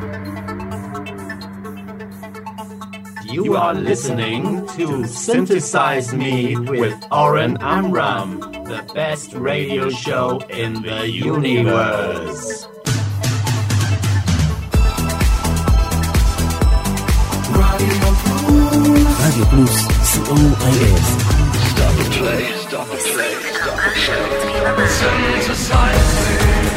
You are listening to Synthesize Me with Oren Amram, the best radio show in the universe. רדיו פלוס, COIS. Double play. Synthesize me.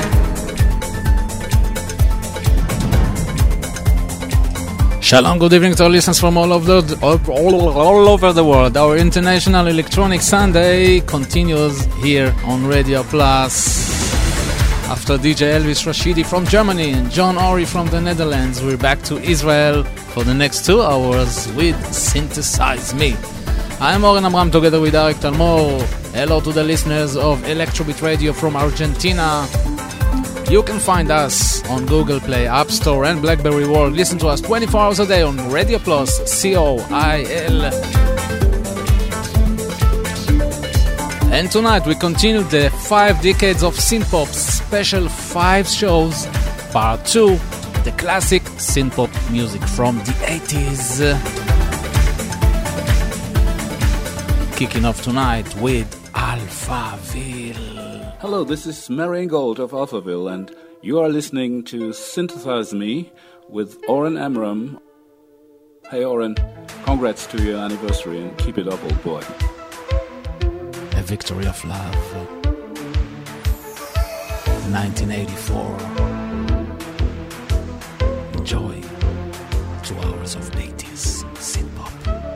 Shalom, good evening to our listeners from all over the world. Our International Electronic Sunday continues here on Radio Plus. After DJ Elvis Rashidi from Germany and John Ori from the Netherlands, we're back to Israel for the next 2 hours with Synthesize Me. I'm Oren Amram together with Arik Talmor. Hello to the listeners of Electrobit Radio from Argentina. You can find us on Google Play, App Store and BlackBerry World. Listen to us 24 hours a day on Radio Plus, COIL. And tonight we continue the 5 decades of synthpop special 5 shows, part 2, the classic synthpop music from the 80s. Kicking off tonight with Alphaville. Hello, this is Marian Gold of Alphaville, and you are listening to Synthesize Me with Oren Amram. Hey Oren, congrats to your anniversary and keep it up, old boy. A Victory of Love, 1984. Enjoy 2 hours of 80s synthpop.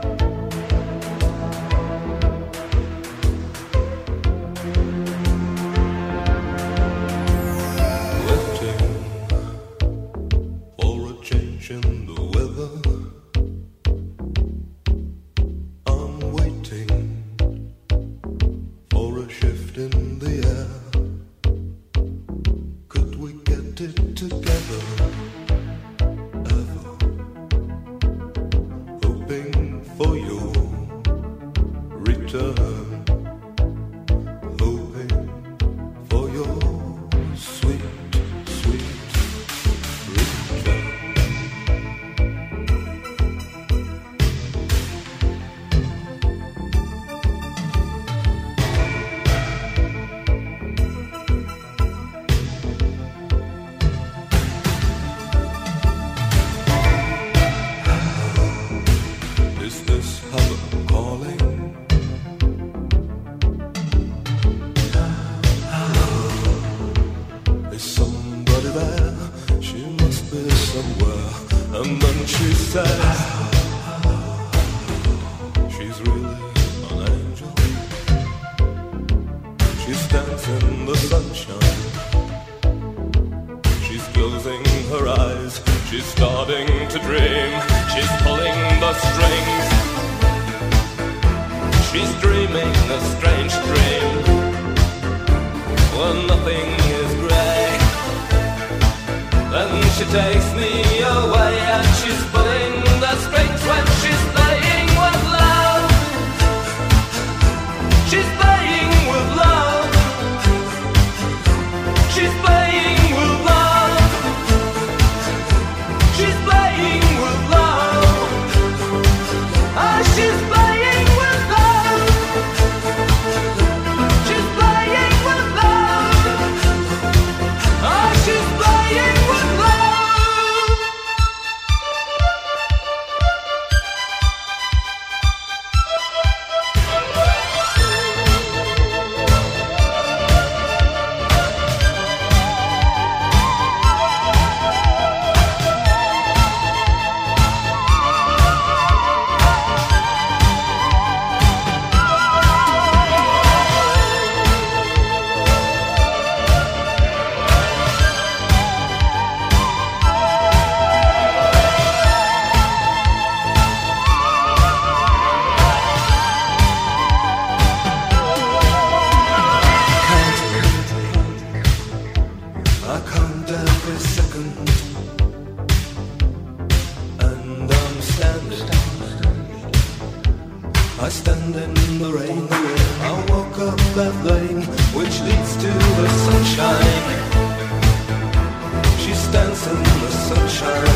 I stand in the rain, I walk up that lane which leads to the sunshine. She stands in the sunshine.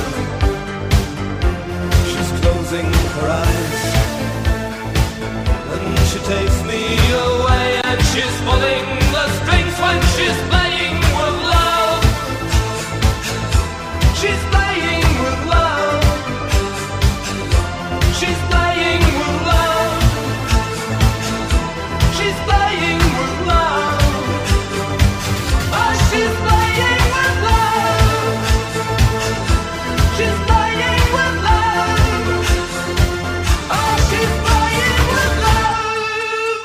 her eyes. And she takes me away, and she's pulling the strings when she's playing with love. She's playing with love. She's playing with love. She's playing with love. Oh, she's playing with love. She's playing with love. Oh, she's playing with love.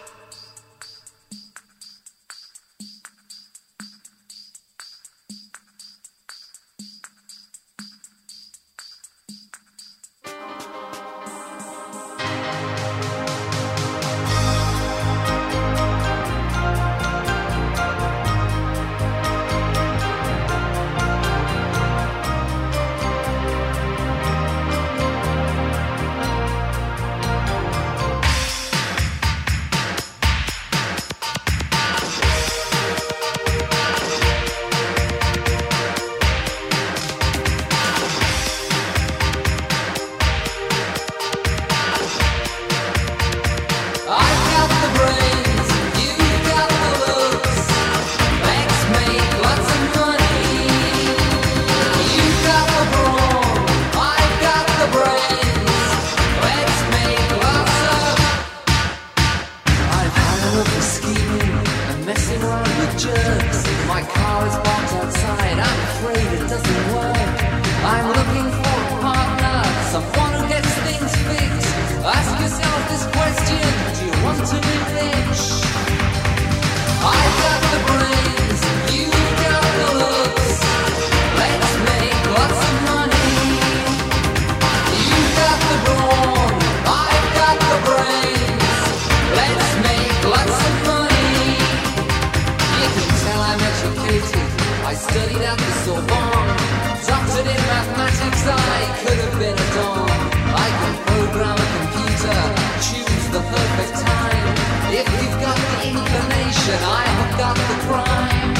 I've got the brains, you've got the looks. Let's make lots of money. You've got the brawn, I've got the brains. Let's make lots of. I've had enough of scheming and messing around with jerks. My car is parked outside, I'm afraid it doesn't work. I'm looking for a partner, someone who gets things fixed. Ask yourself this question, do you want to be rich? I've got the brains, you've got the looks. Let's make lots of money. You've got the brawn, I've got the brains. Let's make lots of money. You can tell I'm educated, I studied at the Sorbonne. Doctored in mathematics, I could have been a don. I can program a computer, choose the perfect time. If you've got the inclination, I have got the crime.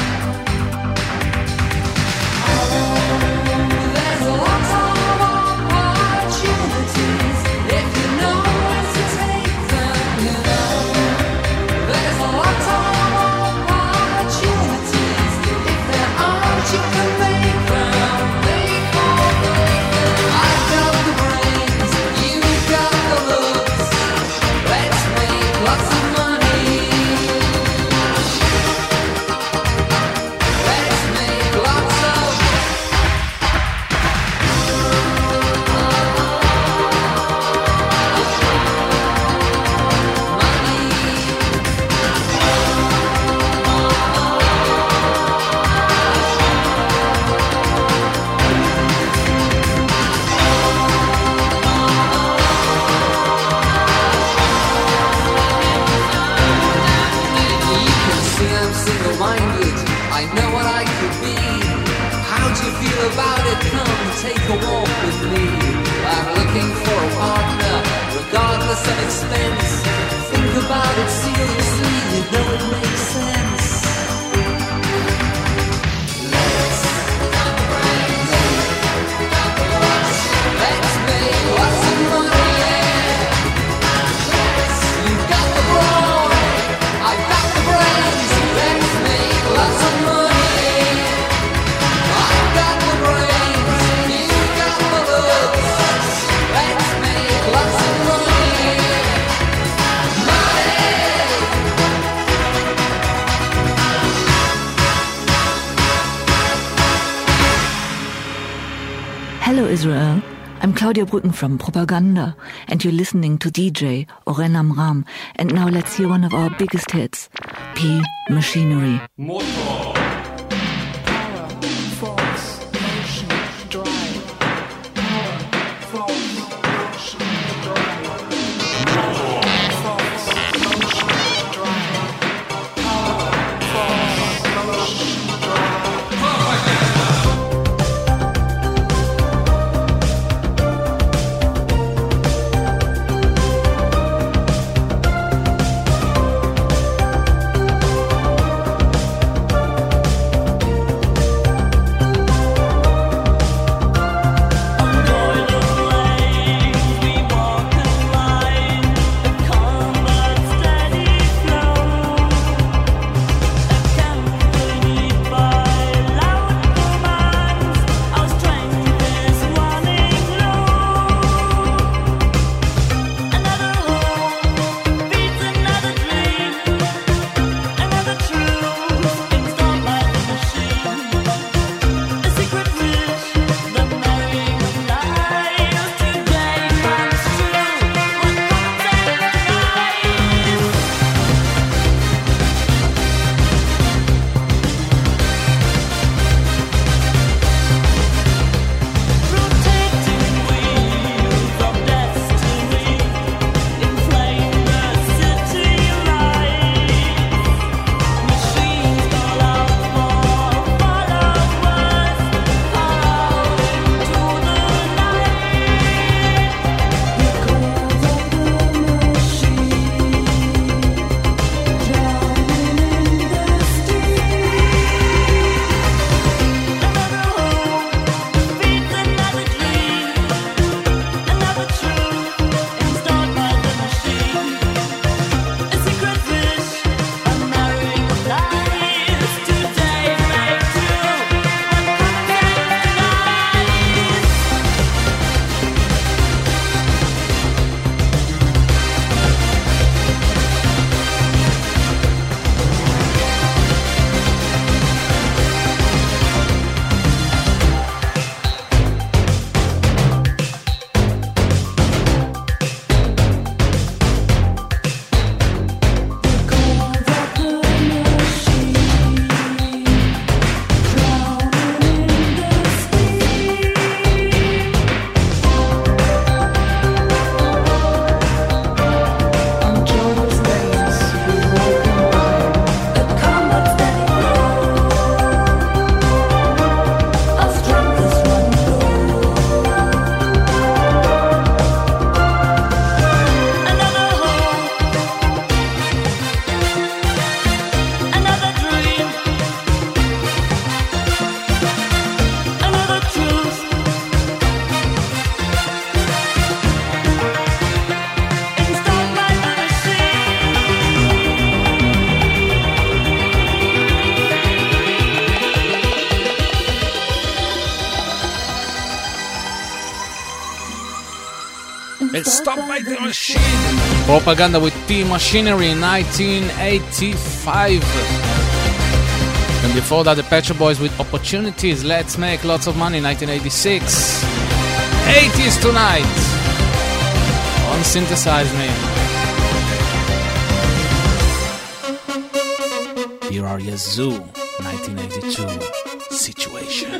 There's a lot of opportunities if you know where to take them, you know. There's a lot of opportunities. If there aren't, you can make them. I've got the brains, you've got the looks. Let's make lots of money. Let's make lots of single-minded, I know what I could be. How do you feel about it? Come take a walk with me. I'm looking for a partner, regardless of expense. Think about it seriously, you know it makes sense. Let's make lots of money, yeah. You've got the brawn, I've got the brains. Let's make lots of money. I've got the brains, you've got the looks. Let's make lots of money. Money. Hello Israel, I'm Claudia Brücken from Propaganda, and you're listening to DJ Oren Amram. And now let's hear one of our biggest hits, P Machinery. Motor. Power, force, motion, drive. Power, force, motion, drive. Power, force, motion, drive. Power, force, motion, drive. It's Stop by the Machine. Propaganda with P-Machinery in 1985. And before that, the Pet Shop Boys with Opportunities, Let's Make Lots of Money, 1986. 80s tonight on Synthesize Me. Here are Yazoo, 1982, Situation.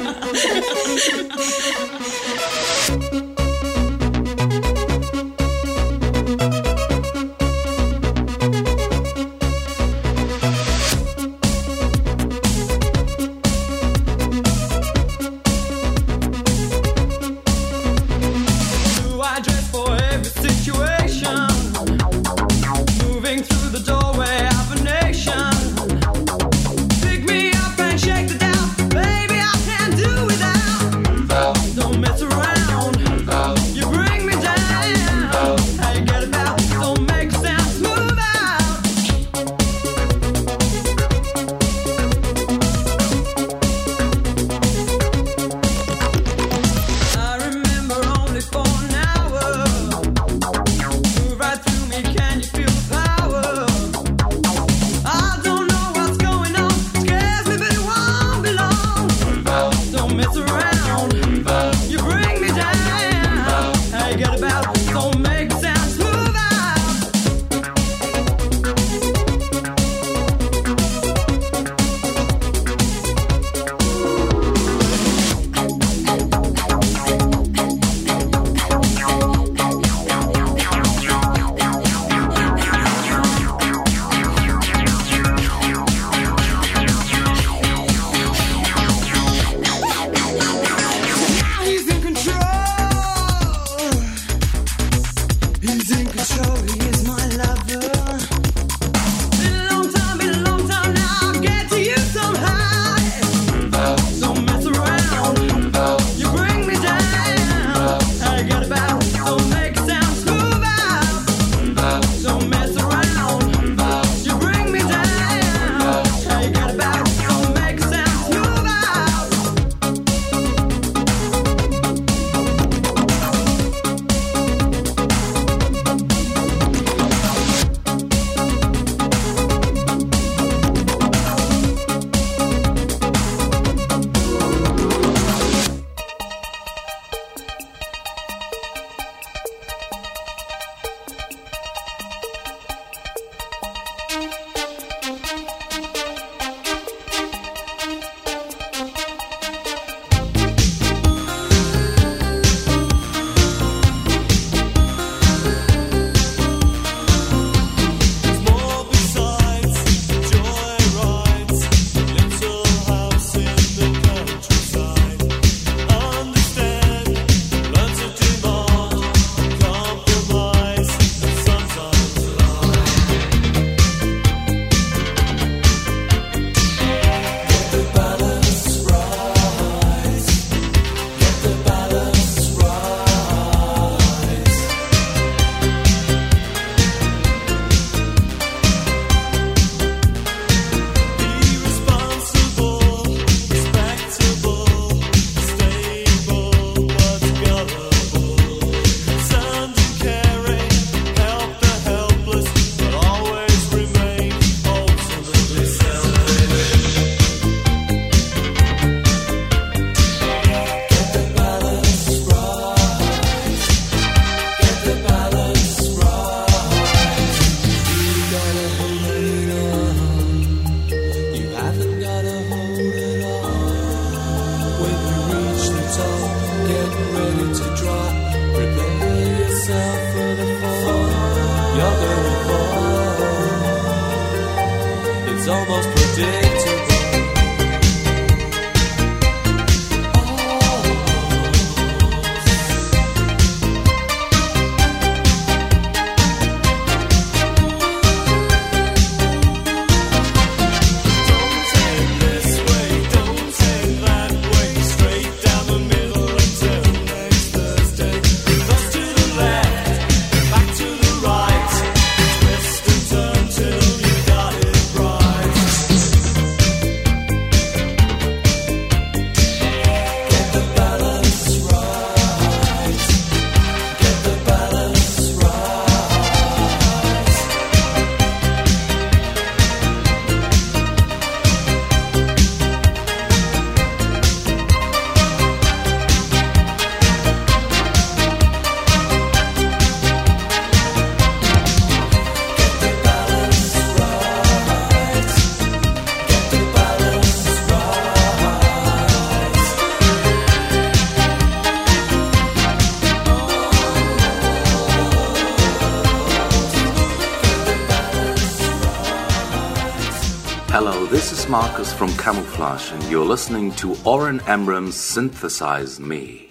Hello, this is Marcus from Camouflage, and you're listening to Oren Amram's Synthesize Me.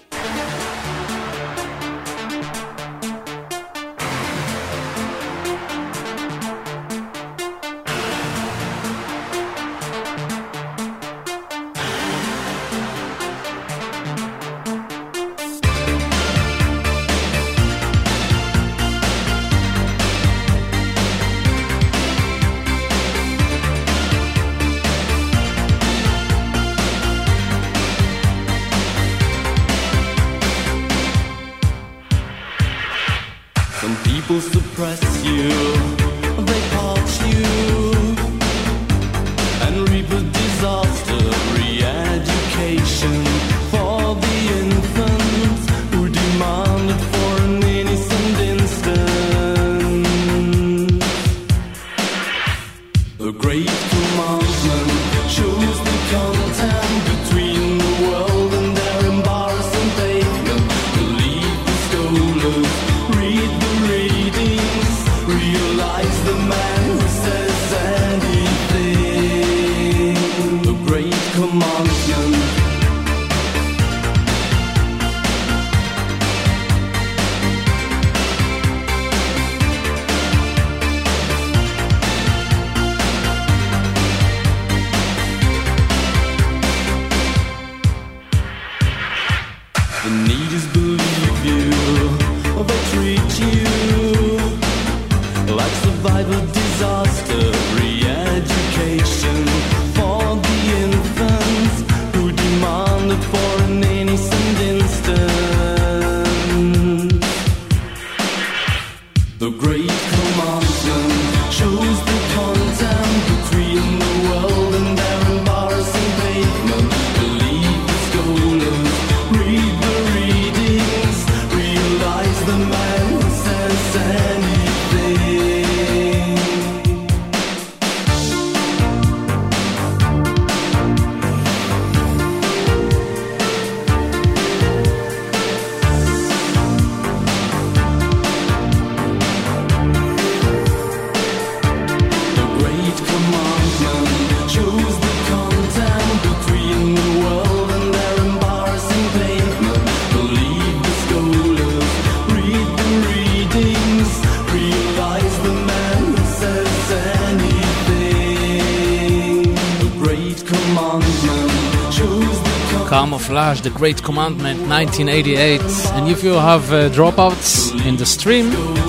Camouflage, The Great Commandment, 1988. And if you have dropouts in the stream,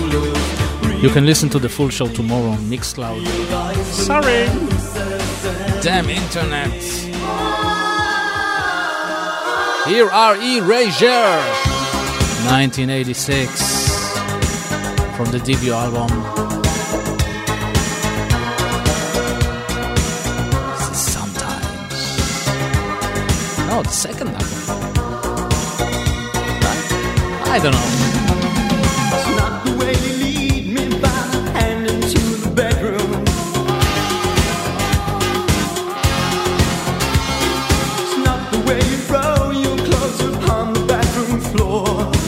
you can listen to the full show tomorrow on Mixcloud. Sorry! Damn internet! Here are Erasure, 1986, from the debut album. Oh, the second album. I don't know. It's not the way you lead me by the hand into the bedroom. It's not the way you throw your clothes upon the bathroom floor.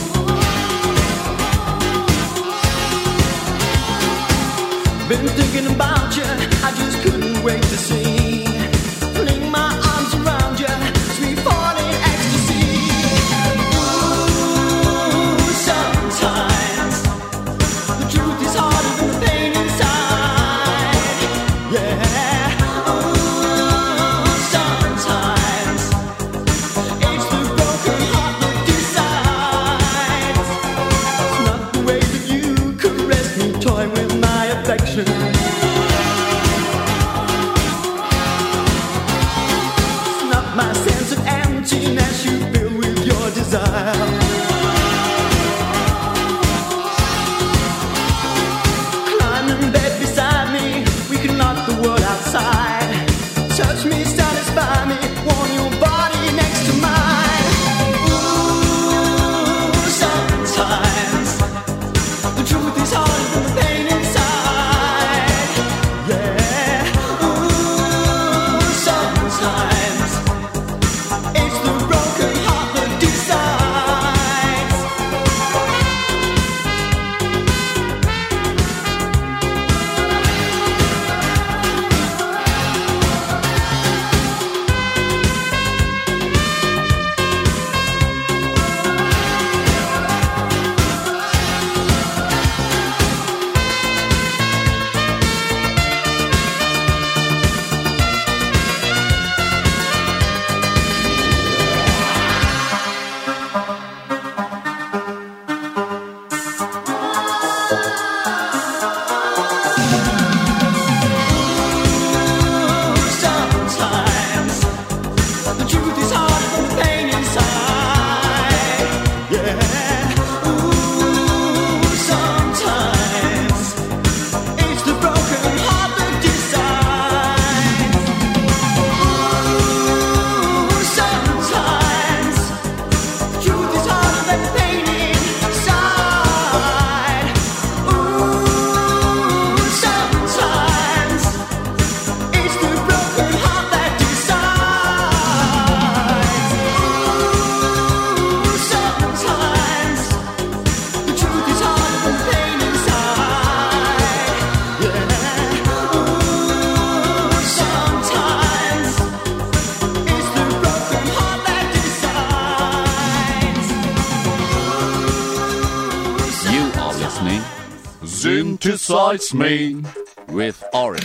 Been thinking about you, I just couldn't wait to see. Fling my arms around you. It's the broken heart that decides. Synthesize Me with Oren.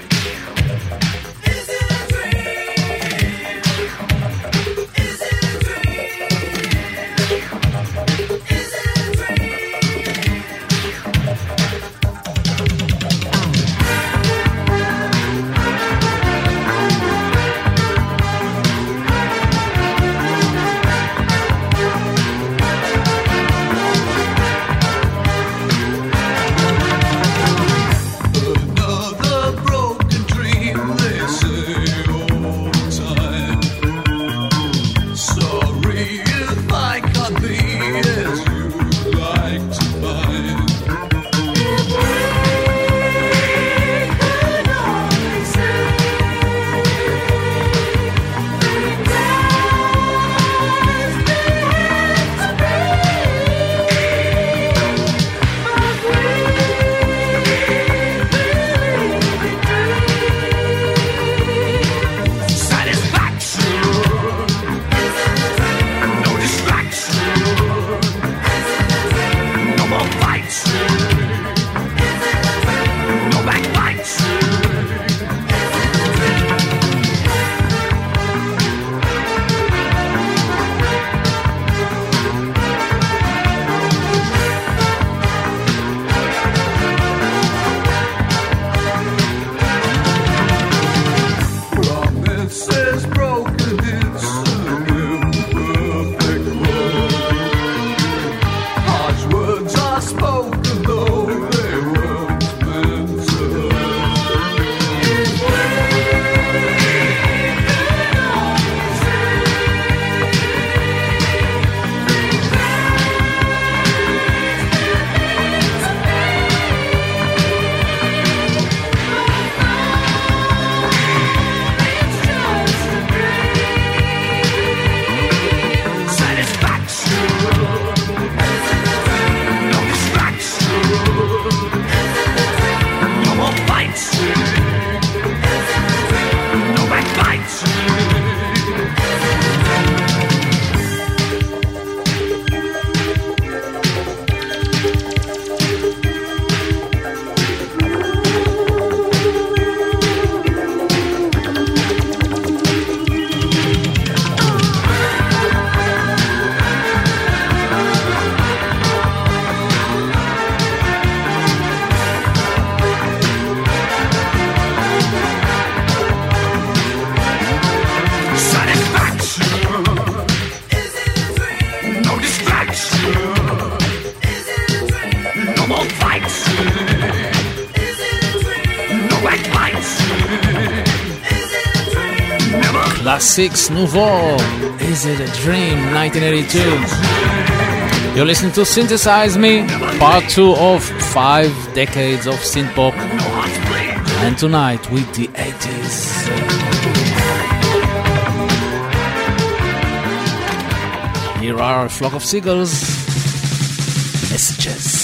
Classics Nouveau, Is It a Dream, 1982. You're listening to Synthesize Me, part 2 of 5 decades of synthpop. And tonight with the 80s. Here are a flock of seagulls. Messages.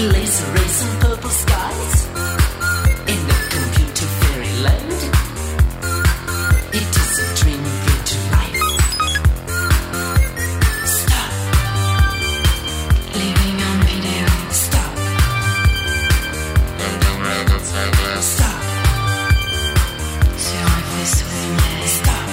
laser rays and purple skies in the computer fairyland. It is a dream brought to life. Stop. Living on video. Stop. Stop. Sur un vaisseau lunaire. Stop.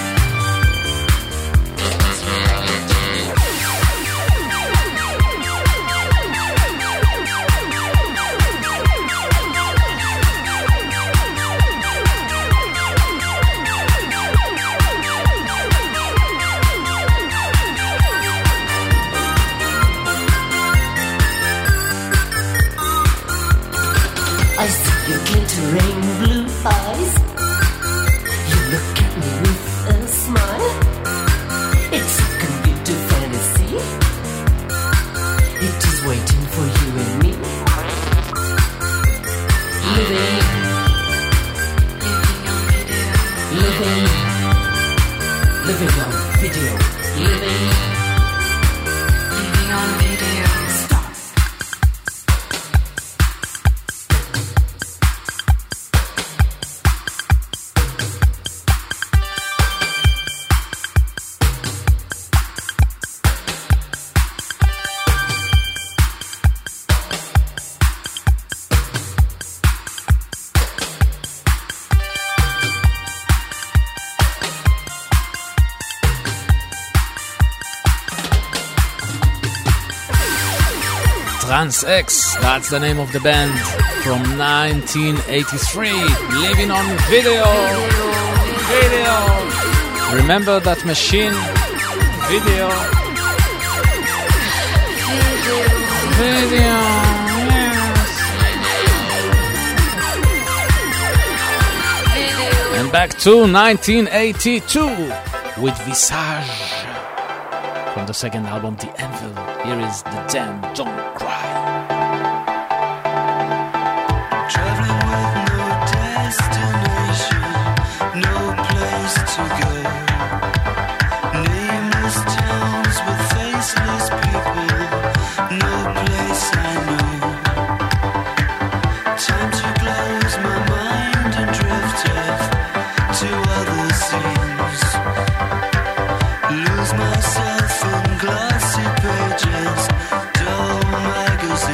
I see your glittering blue eyes. You look at me with a smile. It's a computer fantasy. It is waiting for you and me. Living on video. Living on video. Living on video. Stop. Trans X, that's the name of the band from 1983. Living on video. Remember that machine? Video. Yes. And back to 1982 with Visage from the second album, The Anvil. Here is The Damn Don't Cry. Traveling with no destination, no place to go. Nameless towns with faceless people, no place I know. Time to close my mind and drift off to other scenes. Lose myself in glossy pages, dull magazines.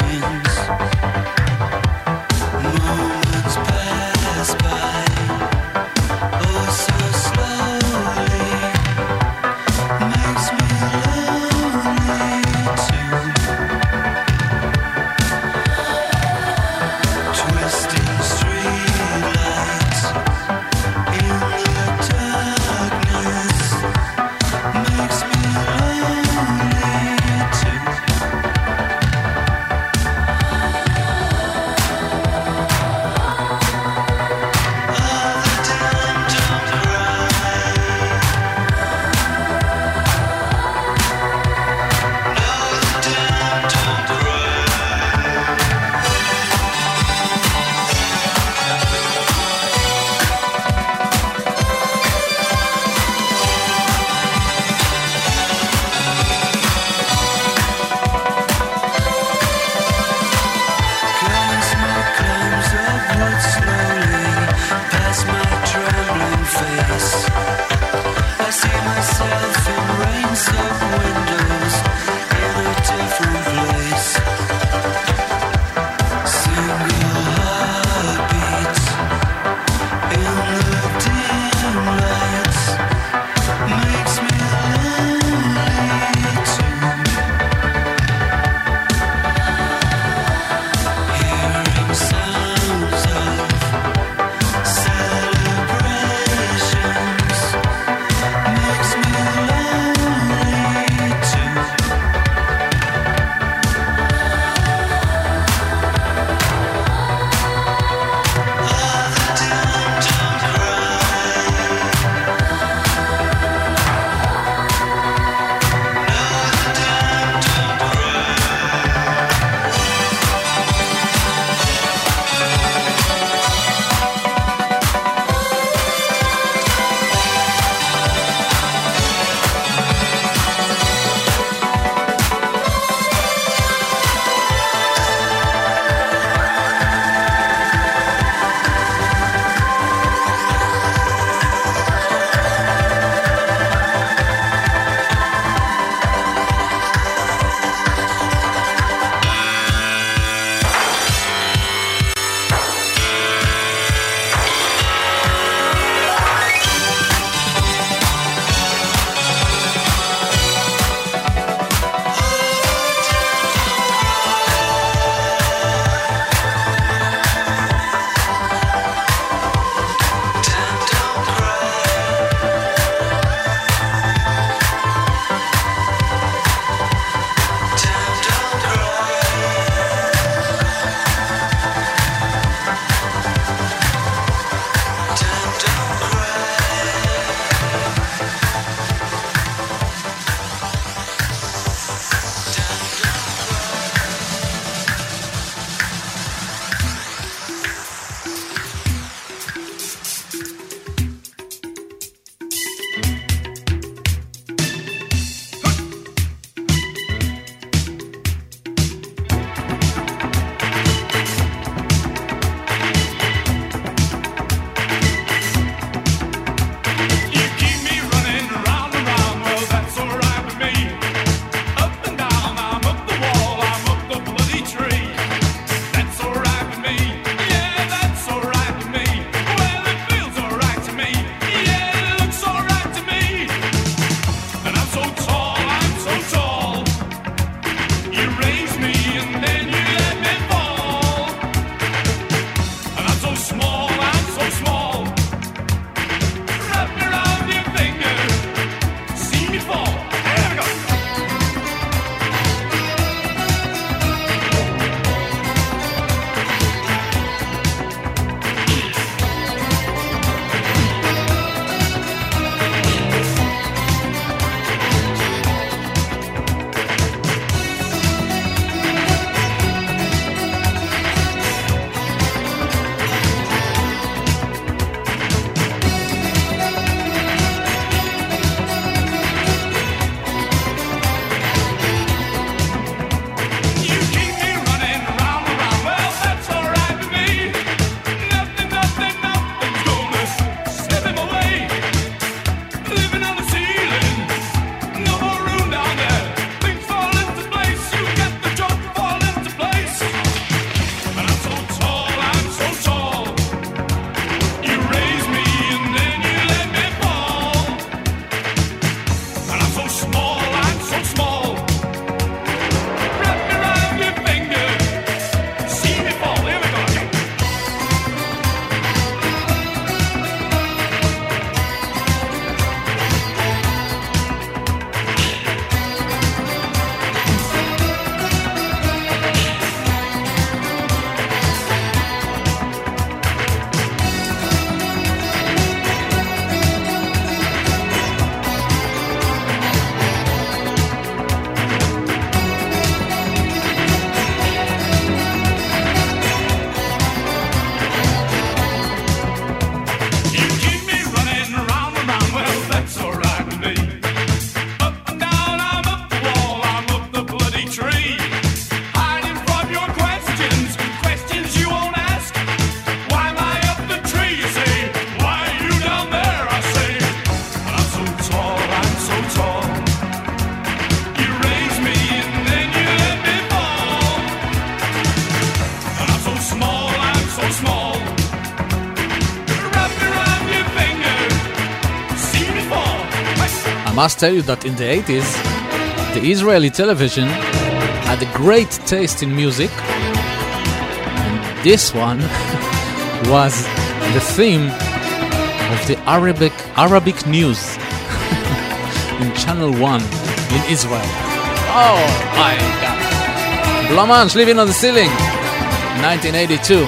must tell you that in the 80s, the Israeli television had a great taste in music, and this one was the theme of the Arabic news in Channel 1 in Israel. Oh my God. Blanche Living on the Ceiling, 1982.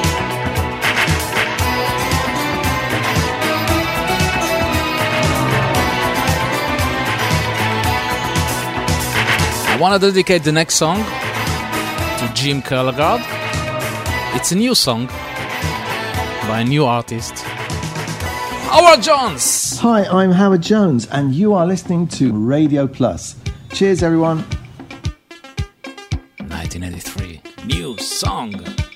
I want to dedicate the next song to Jim Kellegard. It's a new song by a new artist, Howard Jones. Hi, I'm Howard Jones, and you are listening to Radio Plus. Cheers, everyone. 1983, new song.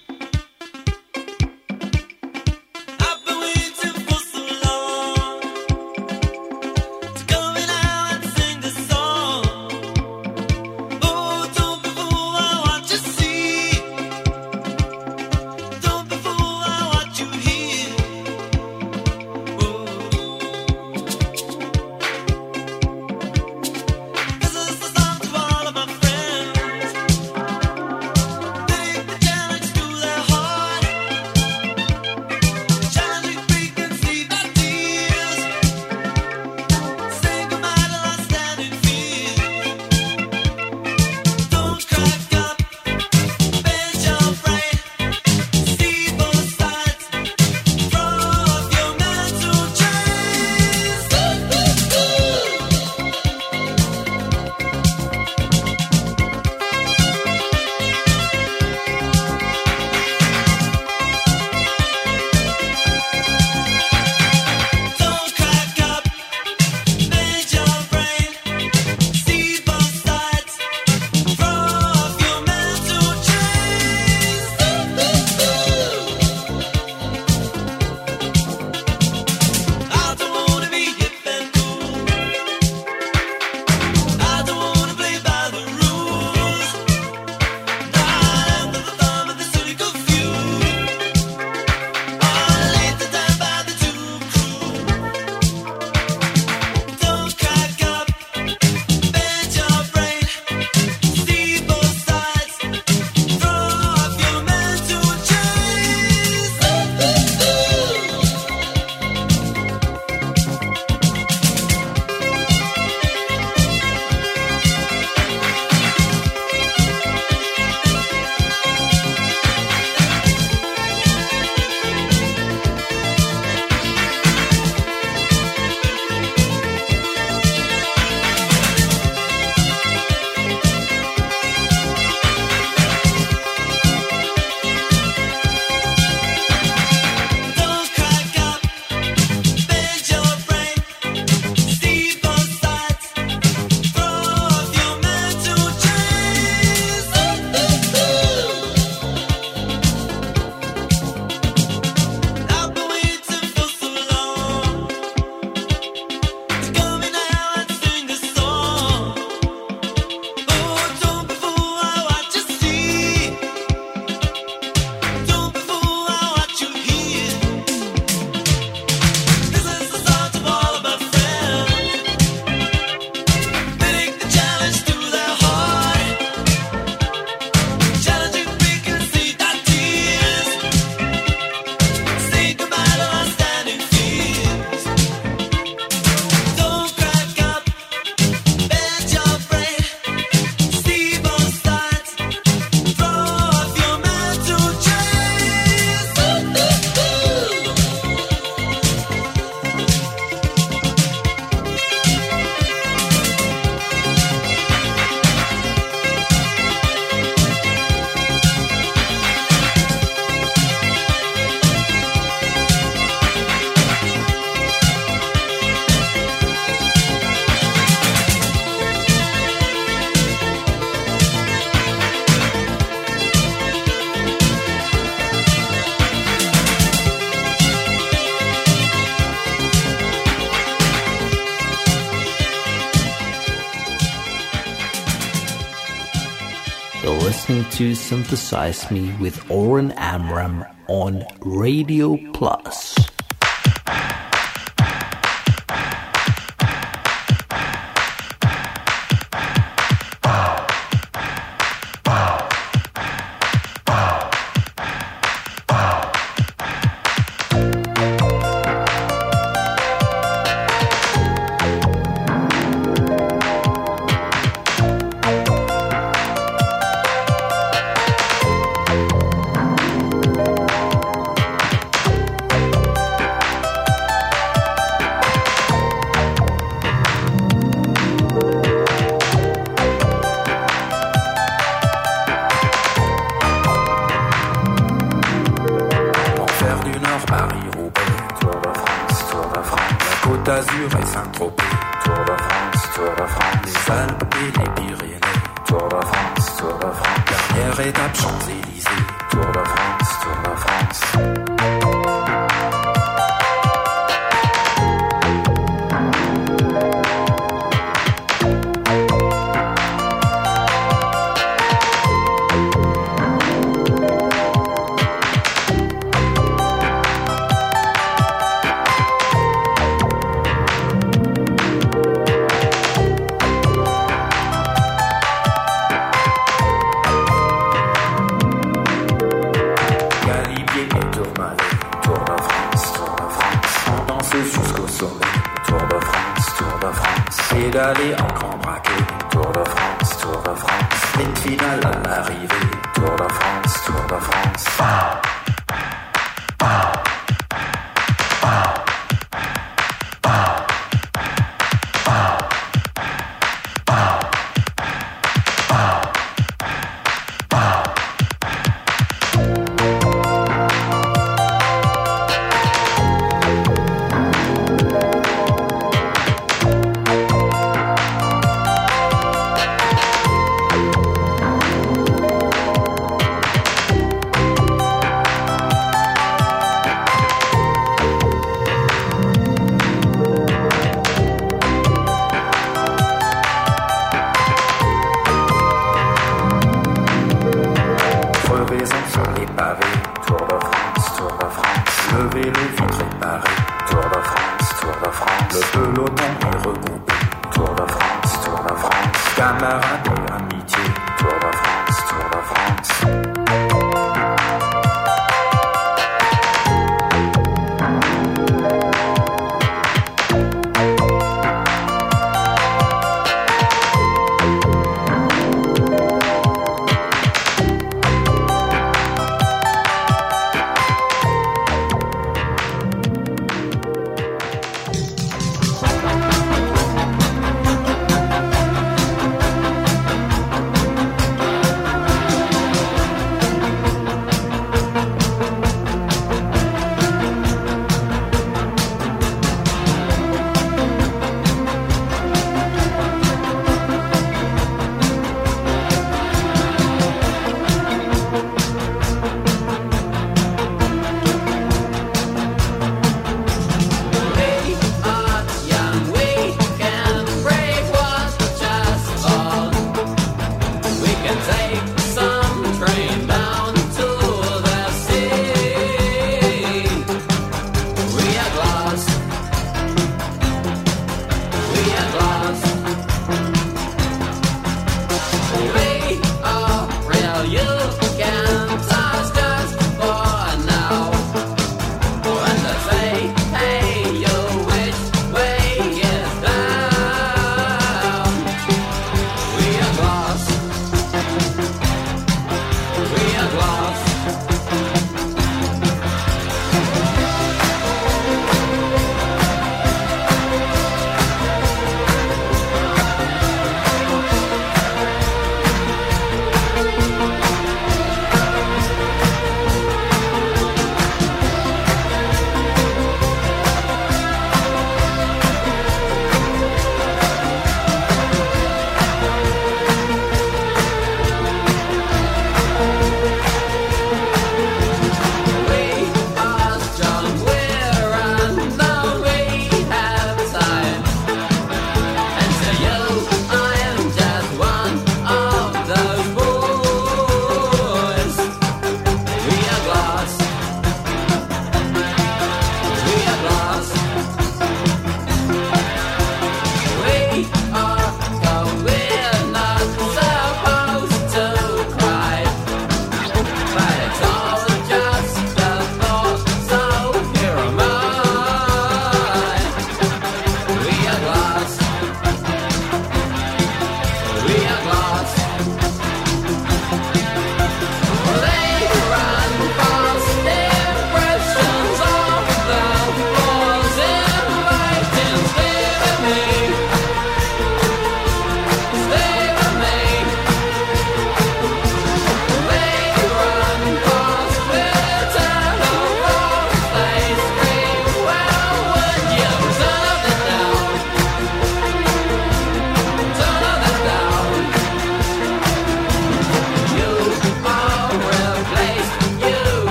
listening to Synthesize Me with Oren Amram on Radio Plus. d'Azur et Saint-Tropez, Tour de France, Tour de France. Les Alpes et les Pyrénées, Tour de France, Tour de France. Dernière étape Champs-Élysées, Tour de France, Tour de France. Pédaler en grand braquet, Tour de France, Tour de France. Sprint final à l'arrivée, Tour de France, Tour de France.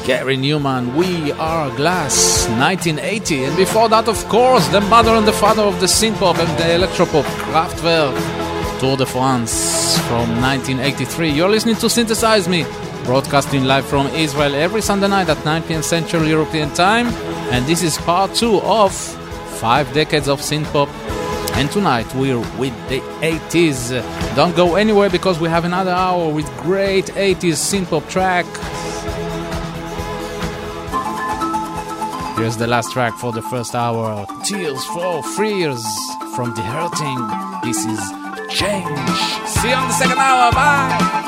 Gary Newman, We Are Glass, 1980. And before that, of course, the mother and the father of the synthpop and the electropop, Kraftwerk, Tour de France from 1983. You're listening to Synthesize Me, broadcasting live from Israel every Sunday night at 9 p.m. Central European Time. And this is part 2 of 5 decades of synthpop. And tonight we're with the 80s. Don't go anywhere because we have another hour with great 80s synthpop track. Here's the last track for the first hour. Tears for Fears from The Hurting. This is Change. See you on the second hour. Bye.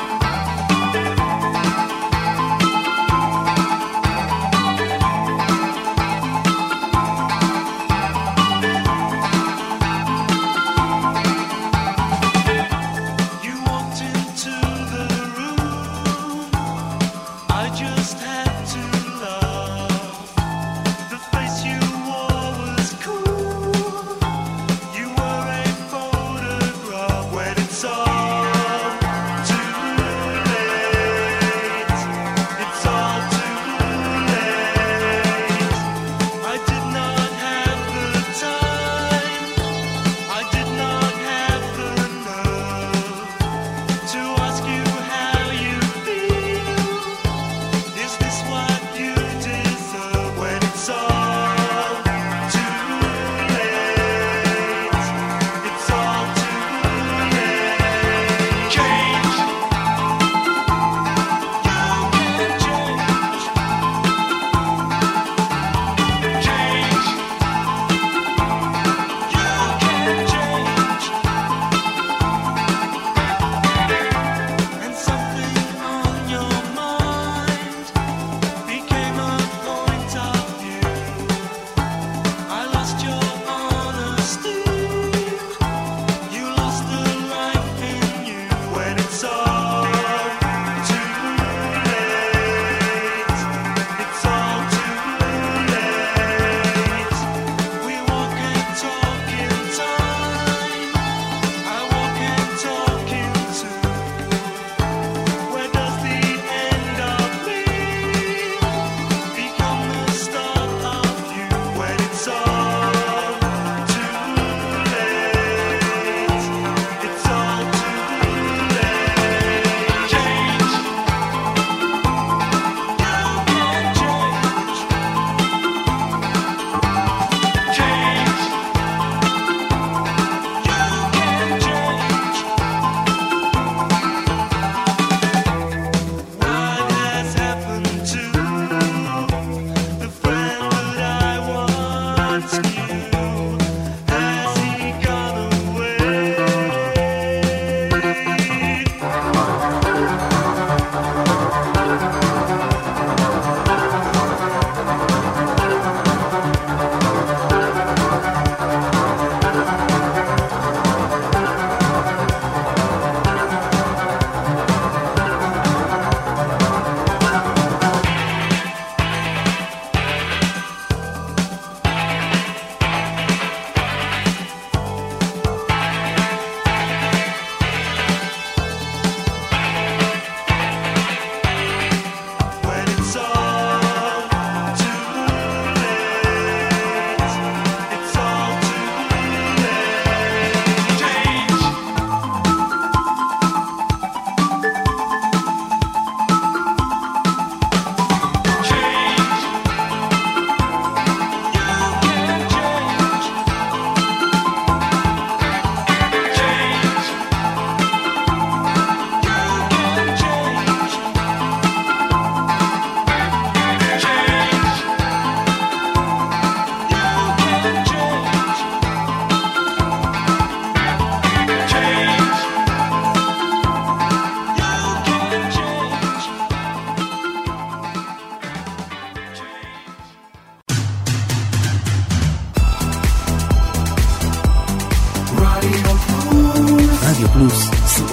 רדיו פלוס,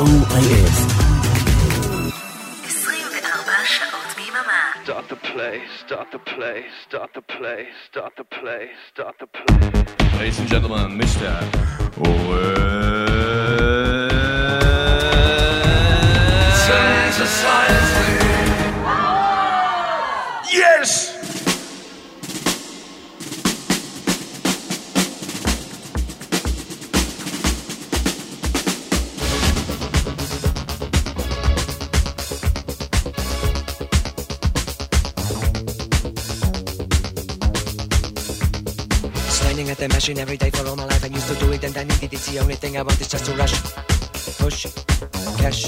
COIS. 24 שעות ביממה. Start the play, start the play, start the play, start the play, start the play. Ladies and gentlemen, Mr. Synthesize me. Yeah! at the machine every day for all my life. I used to do it and I need it. It's the only thing I want is just to rush, push, cash.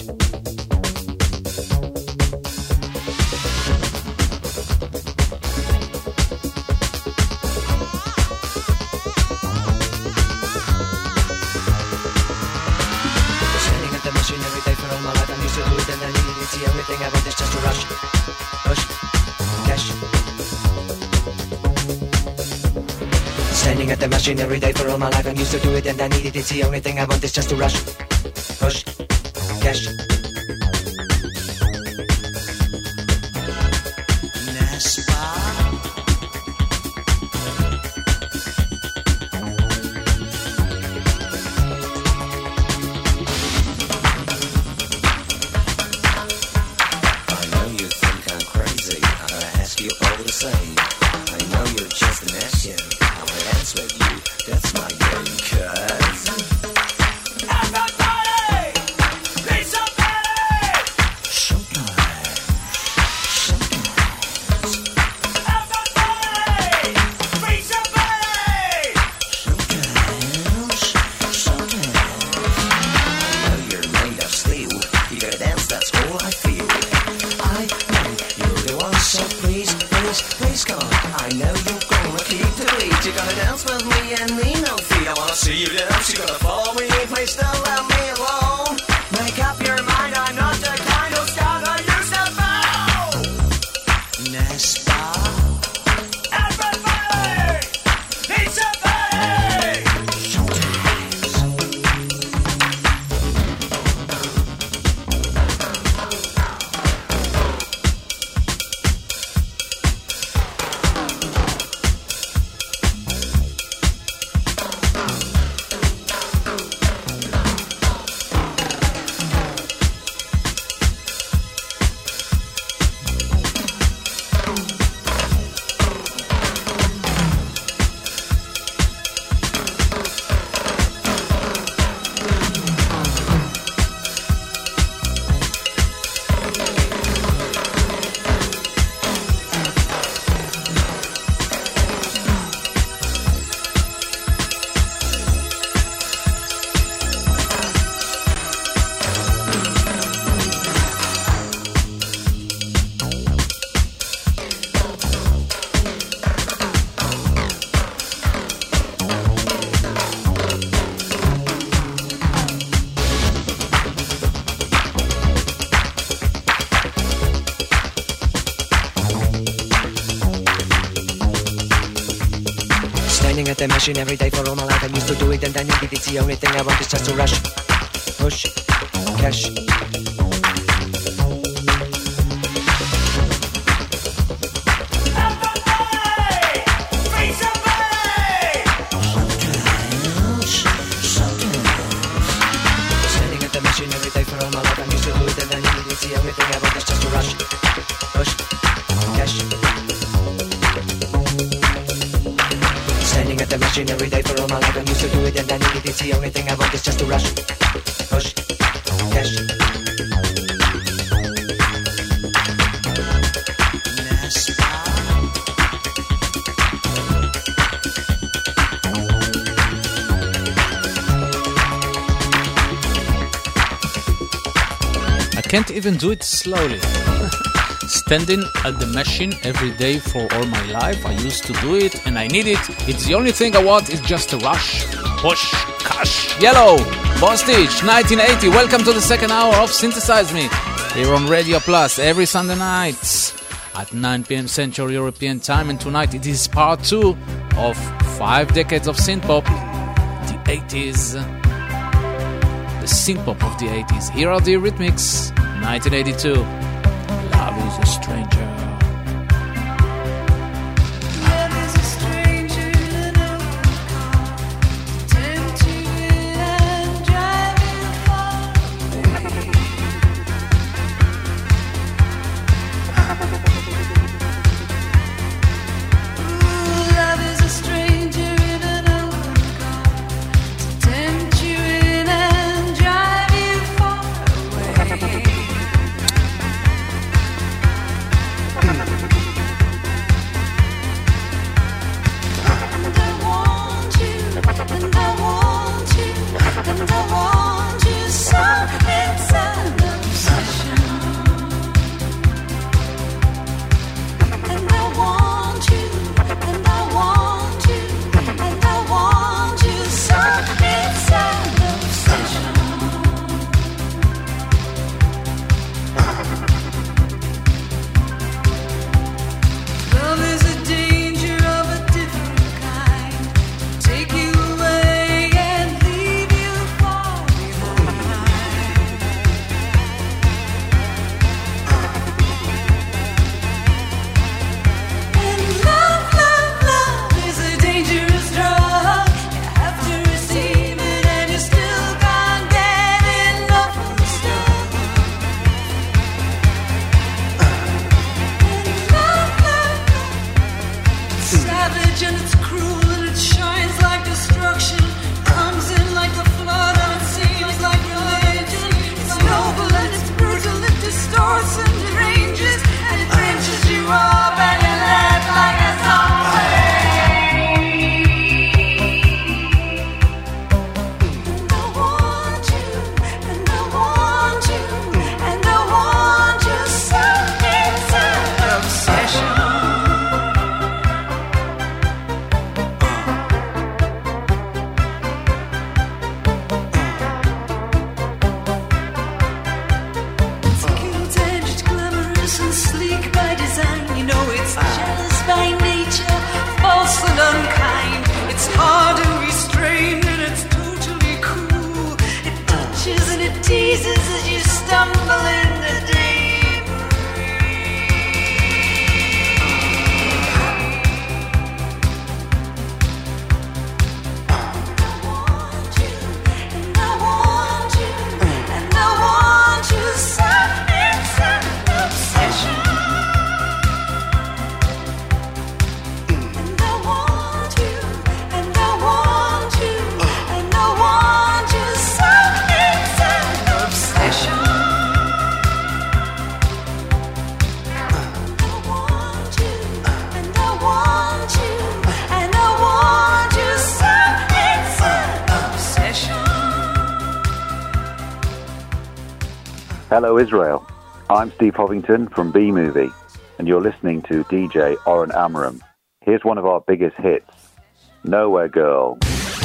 Standing at the machine every day for all my life. I used to do it and I need it. It's the only thing I want is just to rush, push, cash. Standing at the machine every day for all my life. I'm used to do it and I need it. It's the only thing I want is just to rush, push, cash. I know you think I'm crazy. I ask you all the same. I know you're just an action. Dance with you, that's my game, cuz everybody, be somebody. Sometimes. Everybody, be somebody. Sometimes. I know you're made of steel. You gotta dance, that's all I feel. I know you're the one, so please, please, please come on. I know you're gonna keep the lead. You're gonna dance with me and me, no fee. I wanna see you dance. You're gonna follow me, please don't let me alone. Make up your mind, I'm not the kind of scout I used to bow. Nespa. Everybody, it's somebody. Standing at the machine every day for all my life. I used to do it and I need it. It's the only thing I want is just to rush, push, cash. Standing at the machine every day for all my life. I'm used to do it and I need it. It's the only thing I want is just to rush, push, cash. Standing at the machine every day for all my life. I'm used to do it and I need it. It's the only thing I want is just to rush, push, cash. I can't even do it slowly. Standing at the machine every day for all my life. I used to do it and I need it. It's the only thing I want is just to rush, push, cash. Yellow, Bostage, 1980. Welcome to the second hour of Synthesize Me here on Radio Plus every Sunday nights at 9 p.m. Central European Time. And tonight it is part 2 of 5 decades of synthpop, the 80s, the synthpop of the 80s. Here are the Eurythmics, 1982. Love is a stranger. teases as you stumble in the deep. Hello Israel, I'm Steve Hovington from B-Movie, and you're listening to DJ Oren Amram. Here's one of our biggest hits, Nowhere Girl.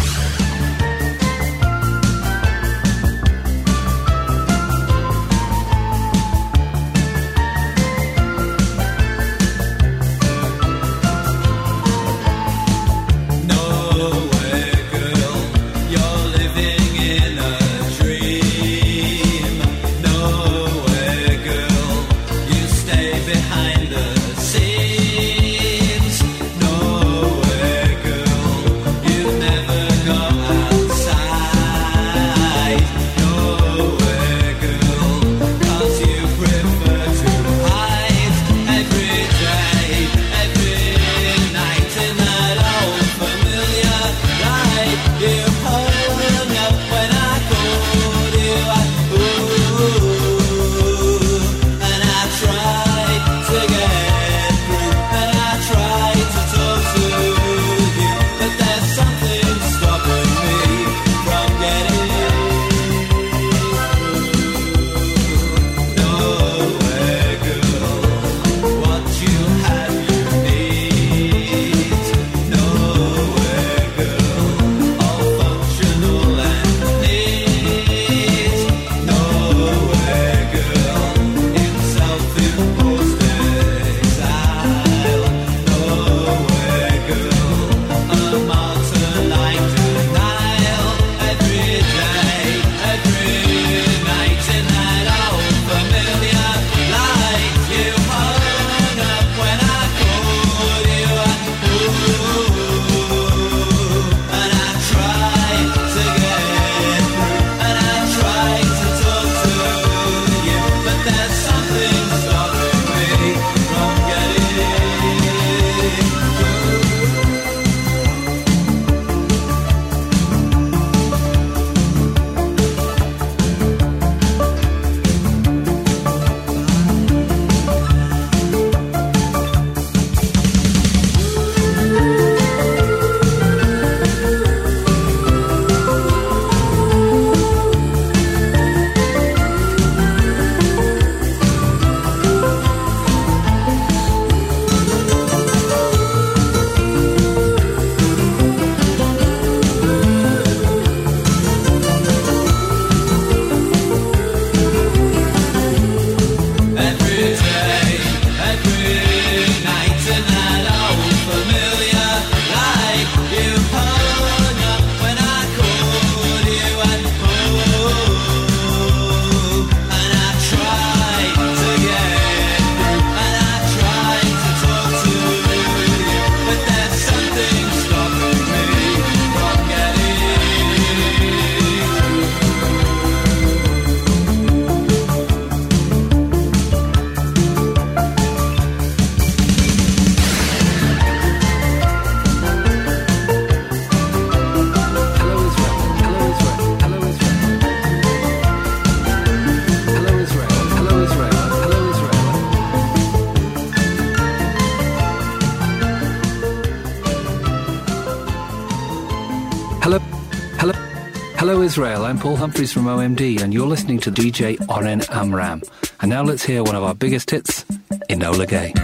Hello Israel, I'm Paul Humphreys from OMD and you're listening to DJ Oren Amram. And now let's hear one of our biggest hits, Enola Gay.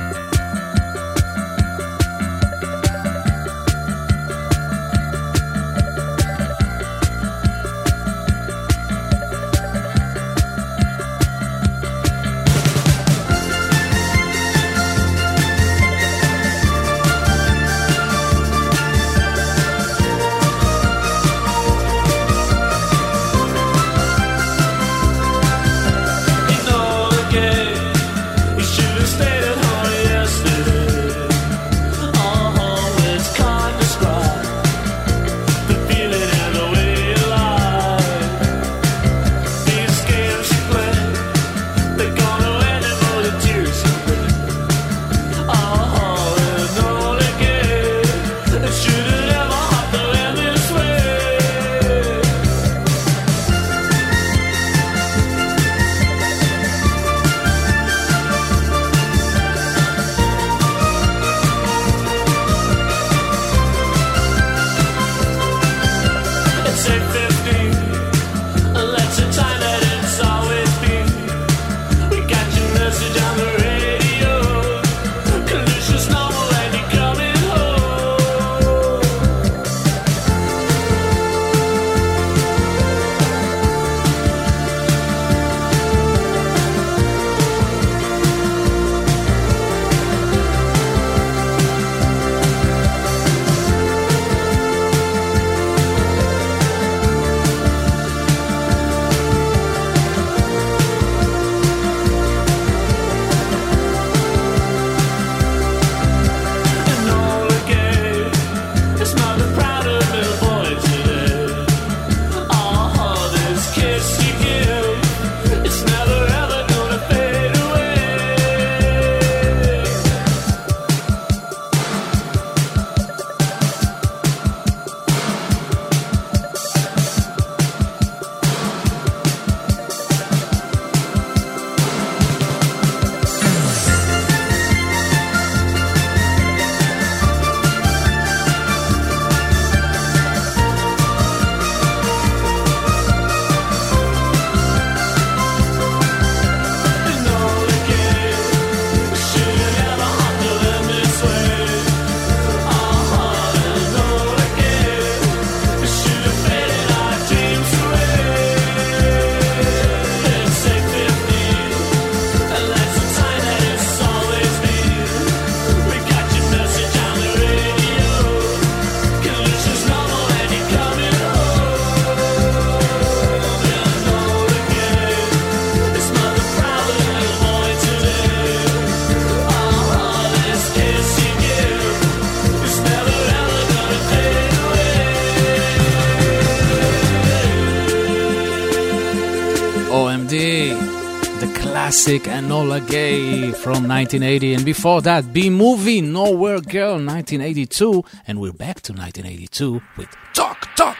the classic Enola Gay from 1980, and before that, B-Movie, Nowhere Girl, 1982, and we're back to 1982 with Talk Talk.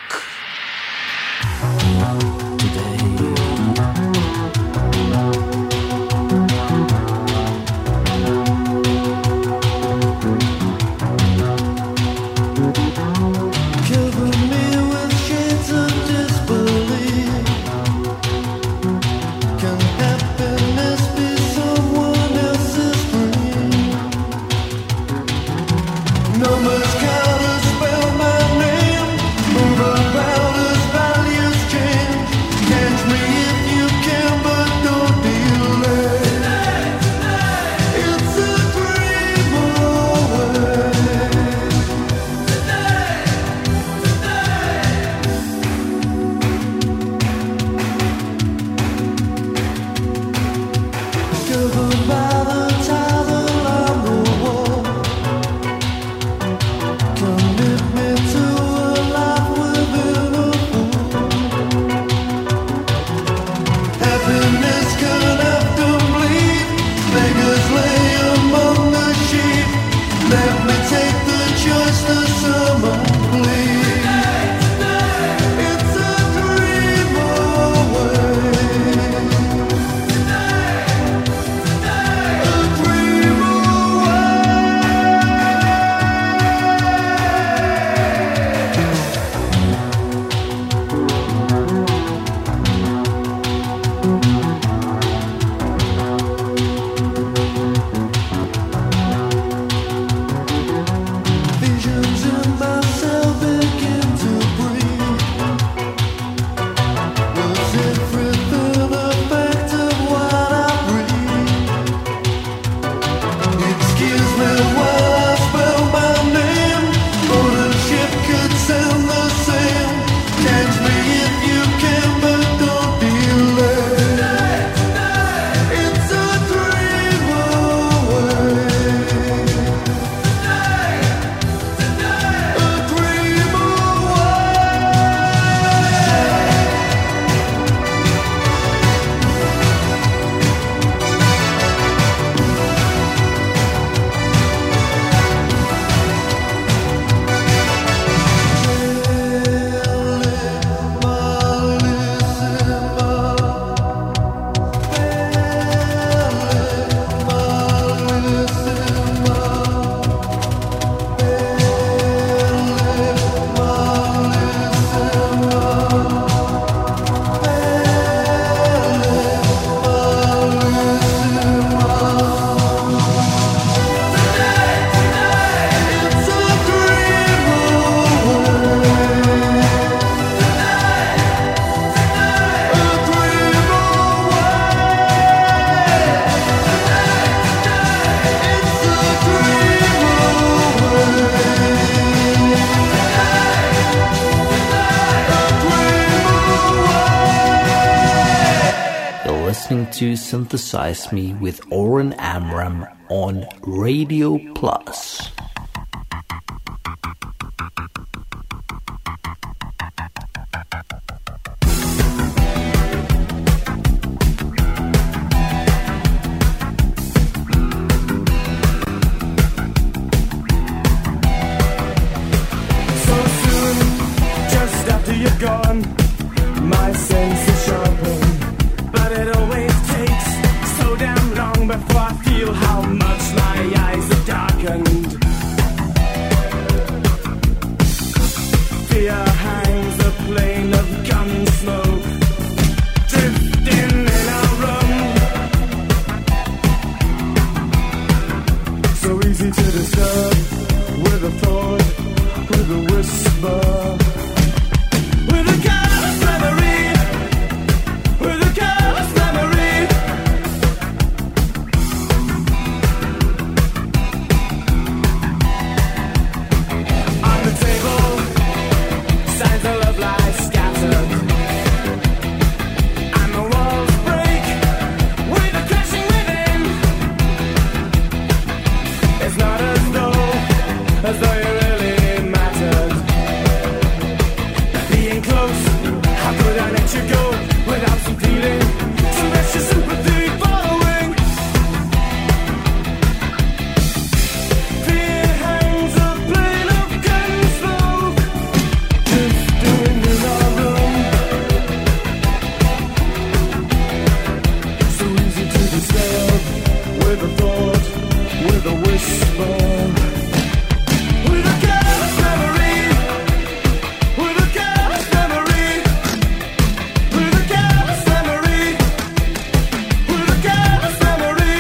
Numbers count as spell my name. Move about as values change. Catch me if you can, but don't delay. It's a dream away. Governed by the tidal on the wall. Commit me to a life within a fool. Happiness can often bleed. Beggars lay among the sheep. Let me take the choice to someone please. It's a dream away. A dream Visions in myself begin to breathe. Was everything a fact of what I breathe? Excuse me while I spell my name. On a ship could sound the same. Catch me if you can, but don't delay. It's a dream away. A dream You're listening to Synthesize Me with Oren Amram on Radio Plus. so soon, just after you're gone, my senses sharpen. But it always takes so damn long before I feel how much my eyes have darkened. Fear hangs a plane of gun smoke, drifting in our room. So easy to disturb with a thought, with a whisper, with a careless memory, with a careless memory. On the table, signs of love lie scattered, and the walls break with a crashing within. It's not as though you're really disturb with a thought, with a whisper, with a careless memory, with a careless memory, with a careless memory, with a careless memory.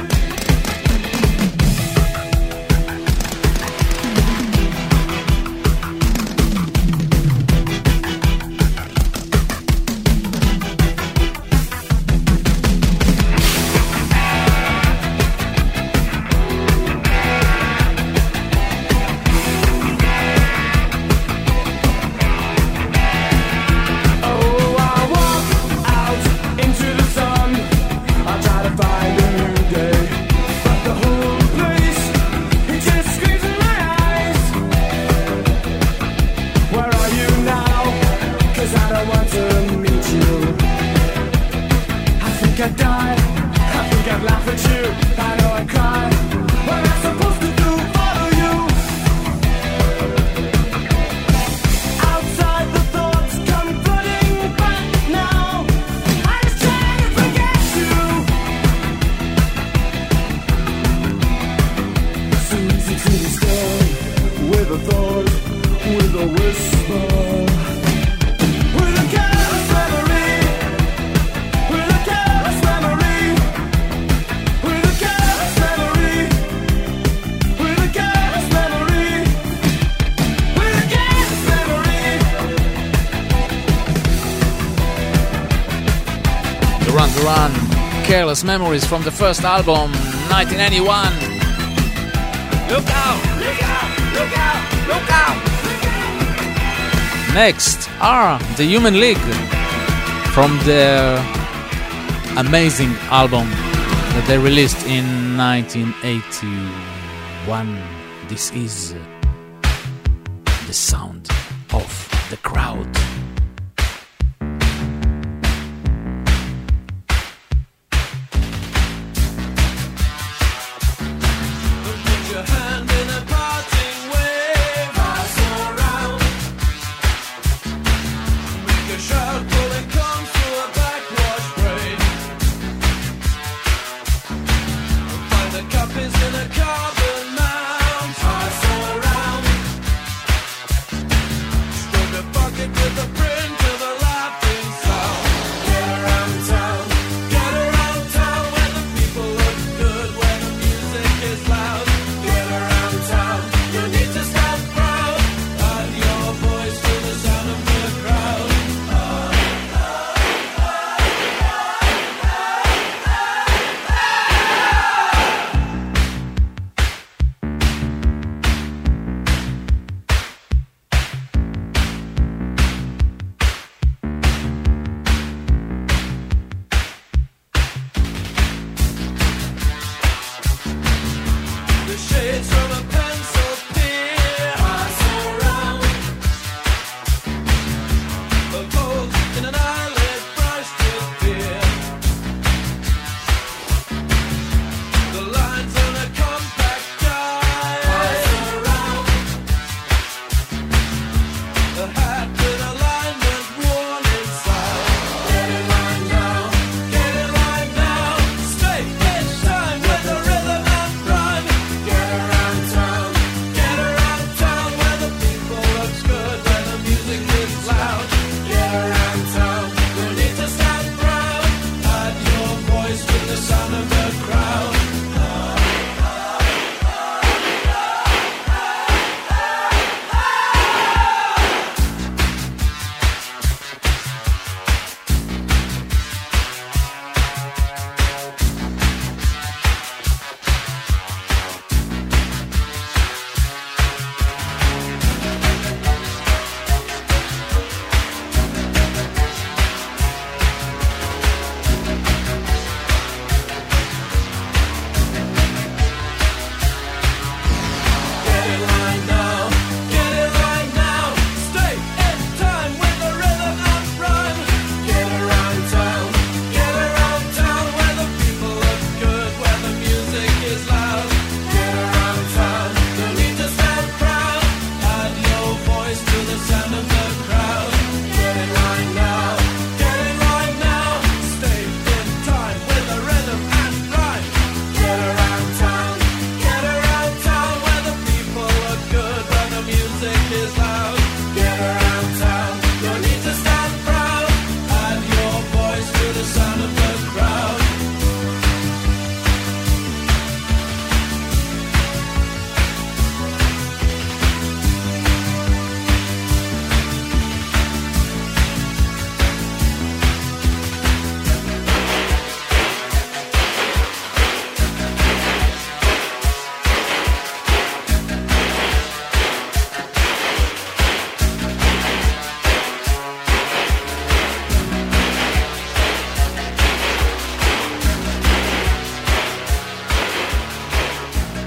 Careless Memories from the first album, 1991. Look out! Look out! Look out! Look out! Next are the Human League from their amazing album that they released in 1981. This is the sound of the crowd.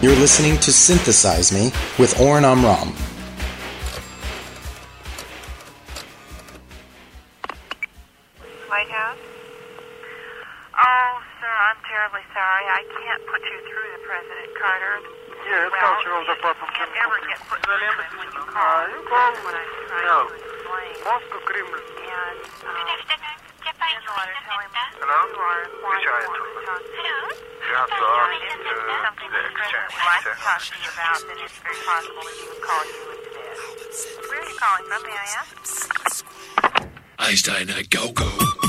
You're listening to Synthesize Me with Oren Amram. White House? Oh, sir, I'm terribly sorry. I can't put you through to President Carter. Yes, cultural department. You can't ever get put through to him when you call. You call? When I try No. to explain. Moscow Kremlin. And, in the letter, tell him Hello? you are why you want to talk to him. If it's something that the President would like to talk to you about, then it's very possible that he would call you instead. Where are you calling from, may I ask? Einstein, go, go.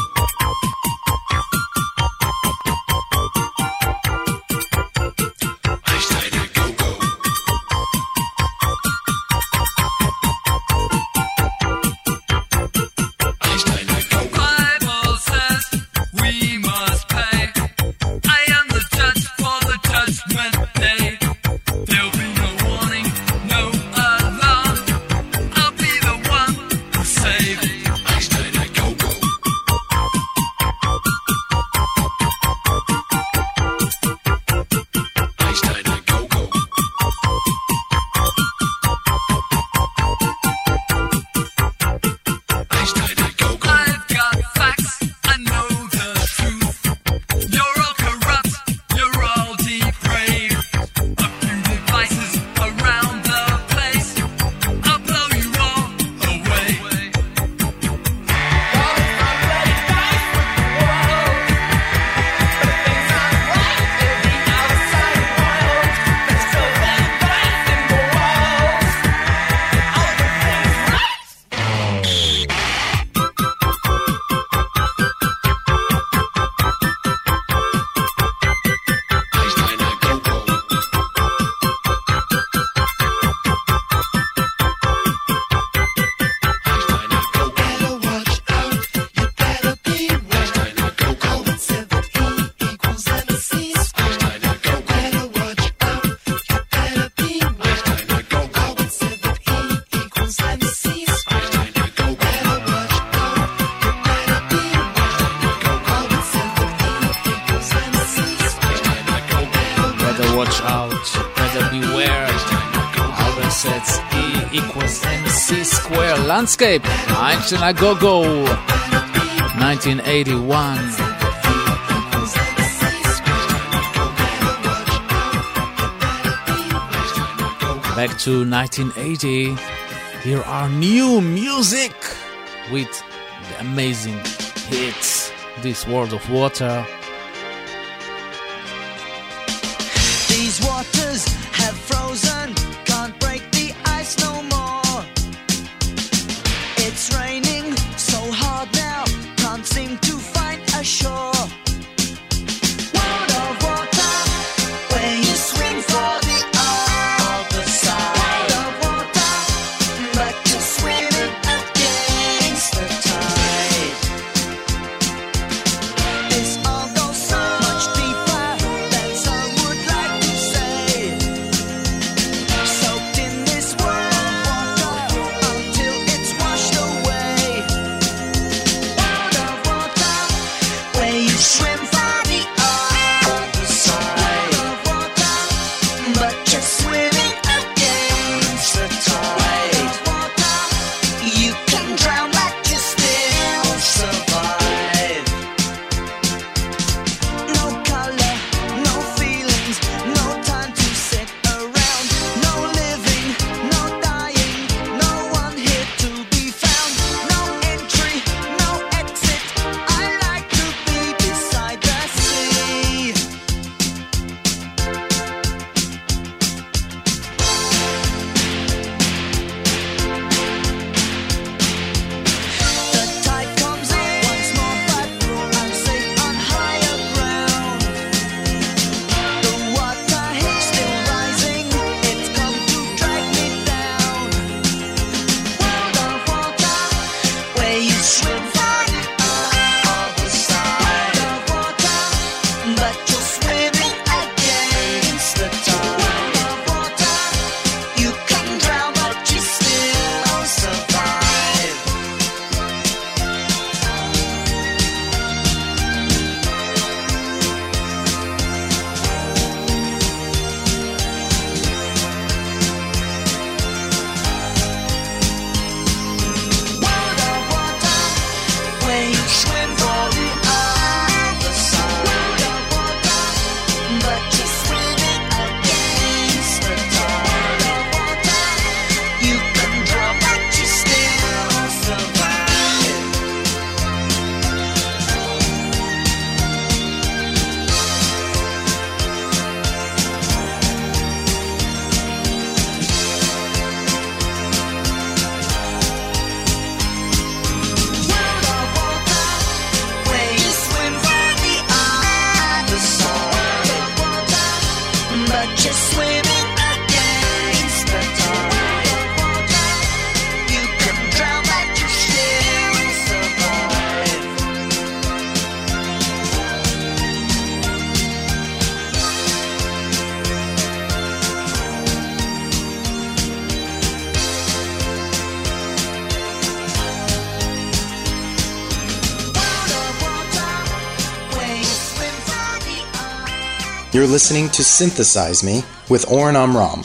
Landscape, Einstein Go Go, 1981. Back to 1980. Here are new music with the amazing hits. This World of Water. These waters have frozen, can't break the ice no more. It's raining so hard now, can't seem to find a shore. World of water, where you swim for the other side. World of water, but you're swimming against the tide. This all goes so much deeper than some would like to say. but you're swimming against the tide. You could drown, but you still survive. You're listening to Synthesize Me with Oren Amram.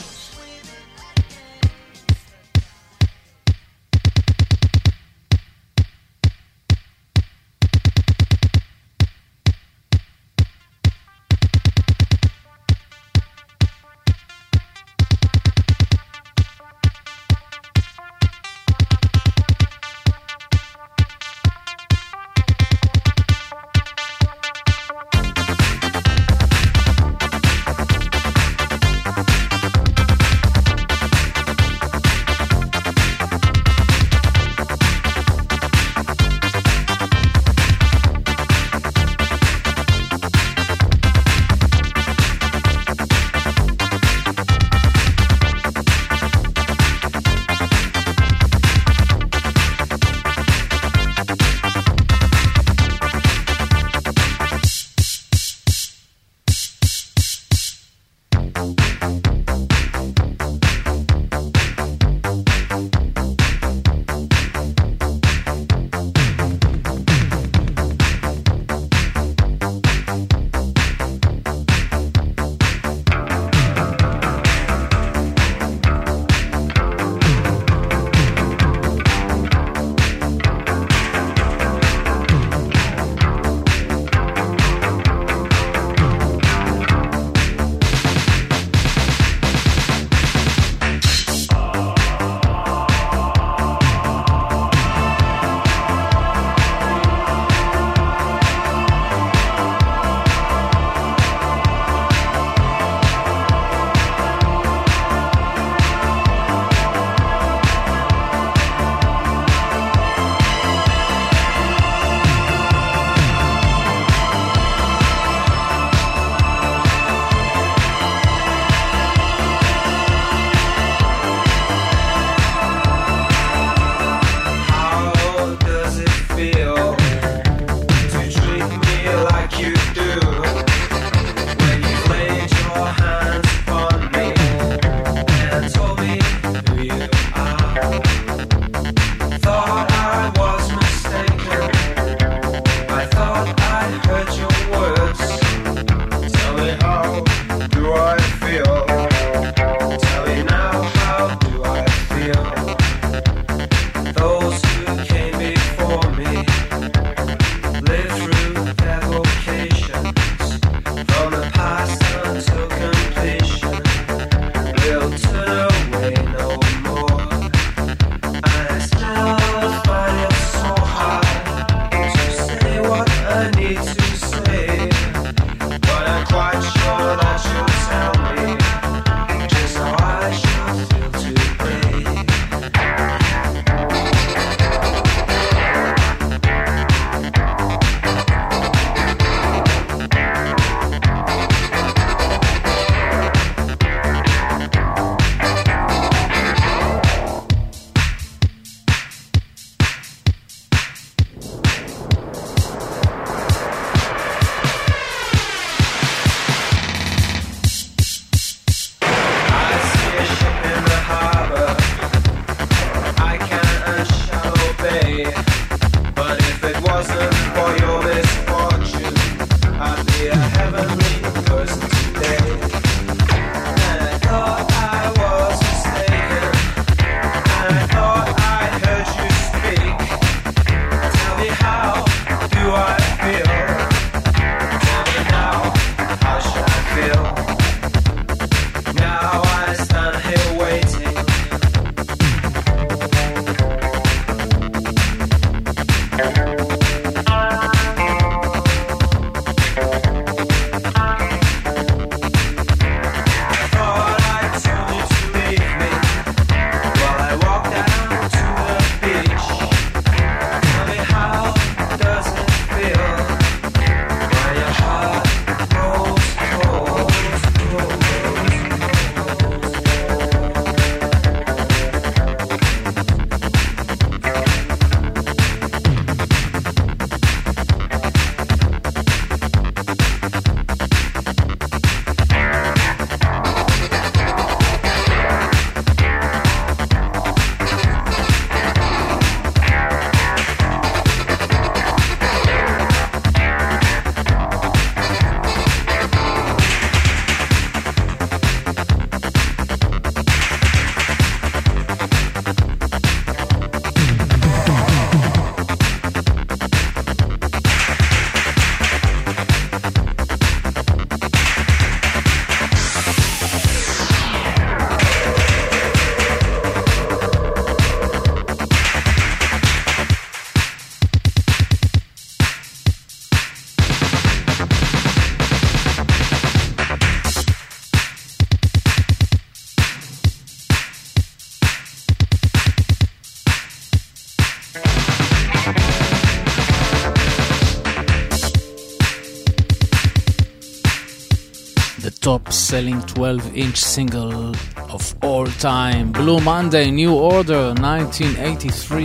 the top-selling 12-inch single of all time, Blue Monday, New Order, 1983.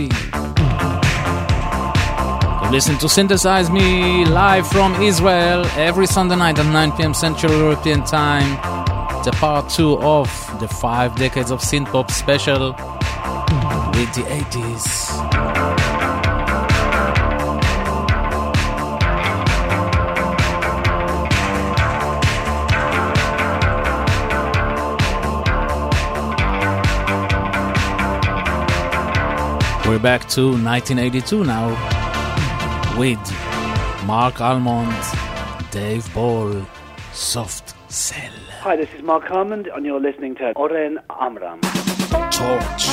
You listen to Synthesize Me live from Israel every Sunday night at 9 p.m. Central European Time. The part 2 of the 5 decades of synth-pop special with the 80s. We're back to 1982 now with Mark Almond, Dave Ball, Soft Cell. Hi, this is Mark Almond, and you're listening to Oren Amram. Torch.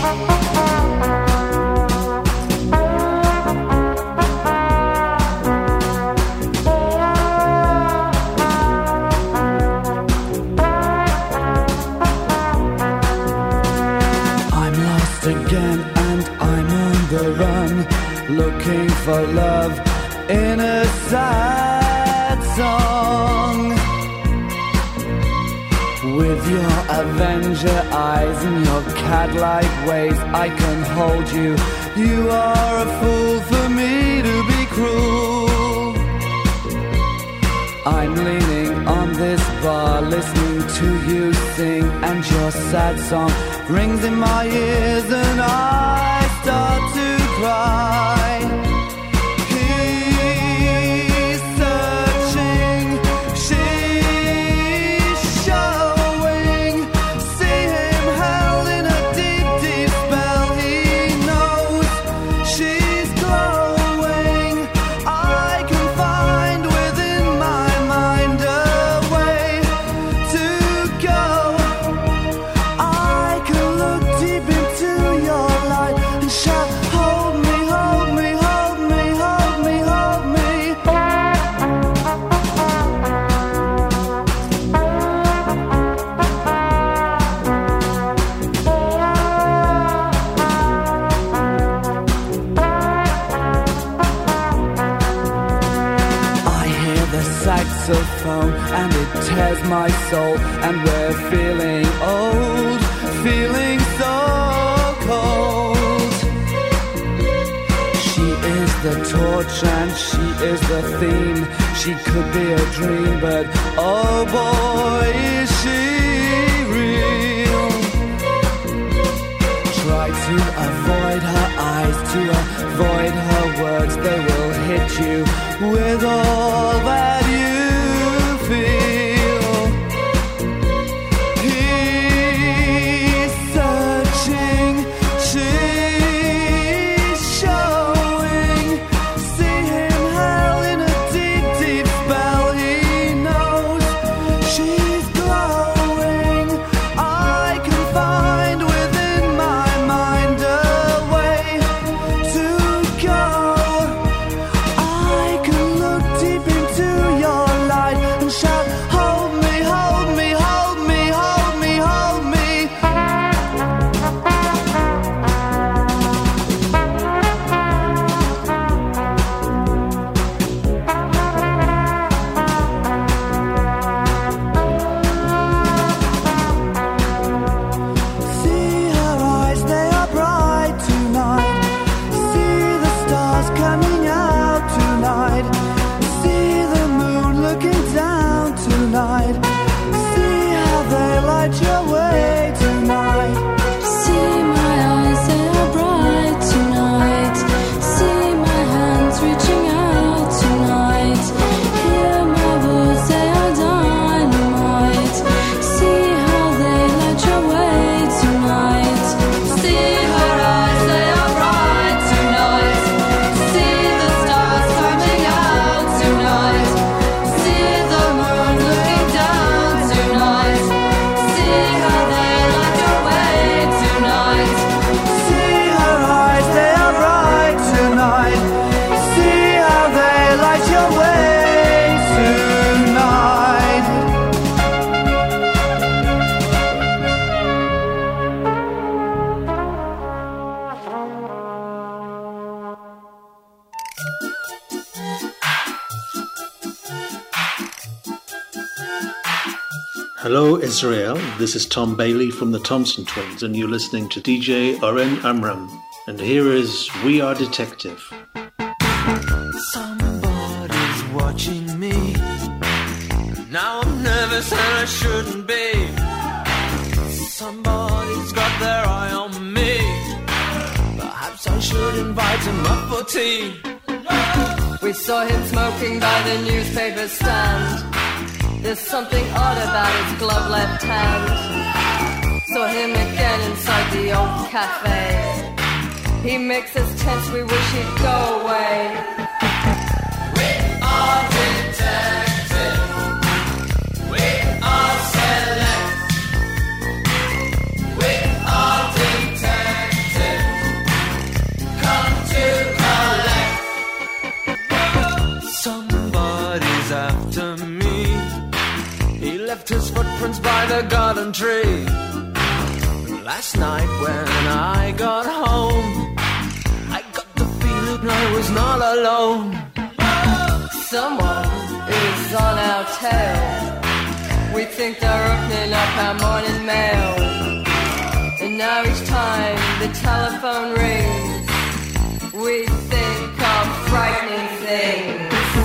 Again, and I'm on the run, looking for love in a sad song. With your Avenger eyes and your cat-like ways, I can hold you. You are a fool for me to be cruel. I'm leaning on this bar, listening to you sing, and your sad song rings in my ears, and I start to cry. He's searching, she's showing. See him held in a deep, deep spell. He knows she's glowing. I can find within my mind a way to go. I can look deep into your light and shout, hold me, hold me, hold me, hold me, hold me. I hear the saxophone and it tears my soul, and we're feeling old, feeling so cold. She is the torch and she is the theme. She could be a dream, but oh boy, is she real. Try to avoid her eyes, to avoid her words. They will hit you with all that you feel. He's searching, she's showing. See him held in a deep, deep spell. He knows she Hello Israel, this is Tom Bailey from the Thompson Twins and you're listening to DJ Oren Amram. And here is We Are Detective. Somebody's watching me. Now I'm nervous and I shouldn't be. Somebody's got their eye on me. Perhaps I should invite him up for tea. We saw him smoking by the newspaper stand. There's something odd about his glove left hand. Saw him again inside the old cafe. He makes us tense, we wish he'd go away. We are detective. We are select. We are detective. Come to collect. Somebody's after me. He left his footprints by the garden tree. Last night when I got home, I got the feeling I was not alone. Someone is on our tail. We think they're opening up our morning mail. And now each time the telephone rings, we think of frightening things.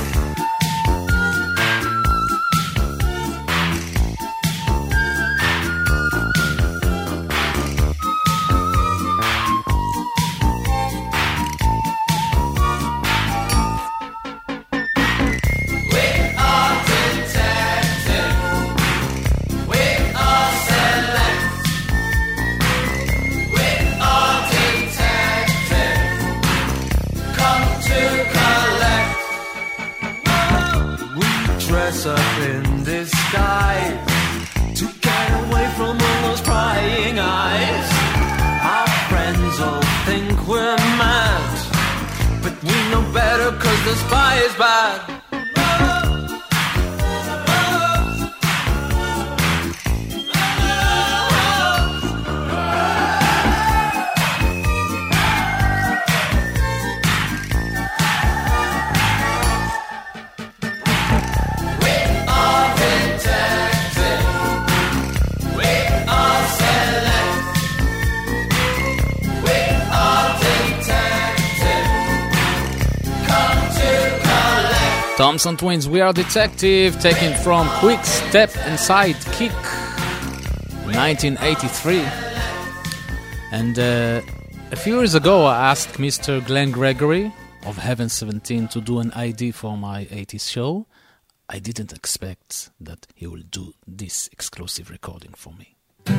Up in disguise to get away from all those prying eyes. Our friends all think we're mad, but we know better 'cause the spy is bad. Thompson Twins, We Are Detective, taken from Quick Step and Sidekick, 1983. And a few years ago I asked Mr. Glenn Gregory of Heaven 17 to do an ID for my 80s show. I didn't expect that he will do this exclusive recording for me.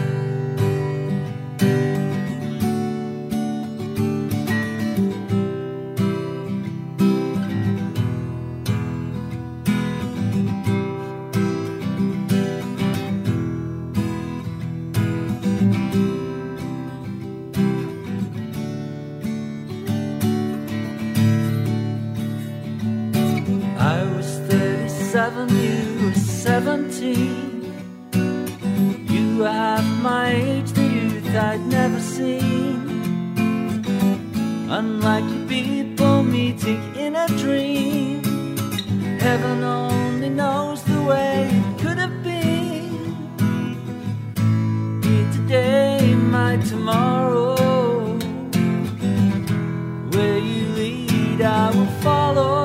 You were 17. You were half my age, the youth I'd never seen. Unlikely people meeting in a dream. Heaven only knows the way it could have been. Me today, my tomorrow. Where you lead, I will follow.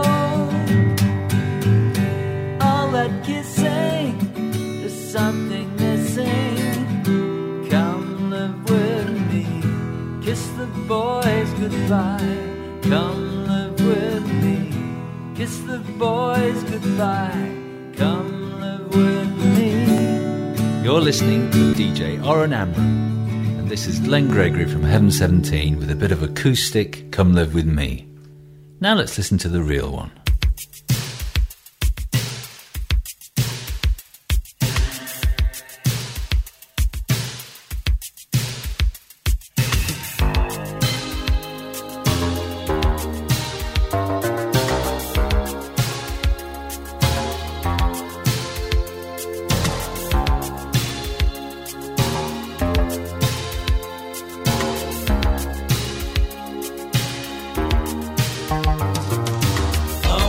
That kissing, there's something missing. Come live with me, kiss the boys goodbye. Come live with me, kiss the boys goodbye. Come live with me. You're listening to DJ Oren Amram, and this is Glenn Gregory from Heaven 17 with a bit of acoustic Come Live With Me. Now let's listen to the real one. Oh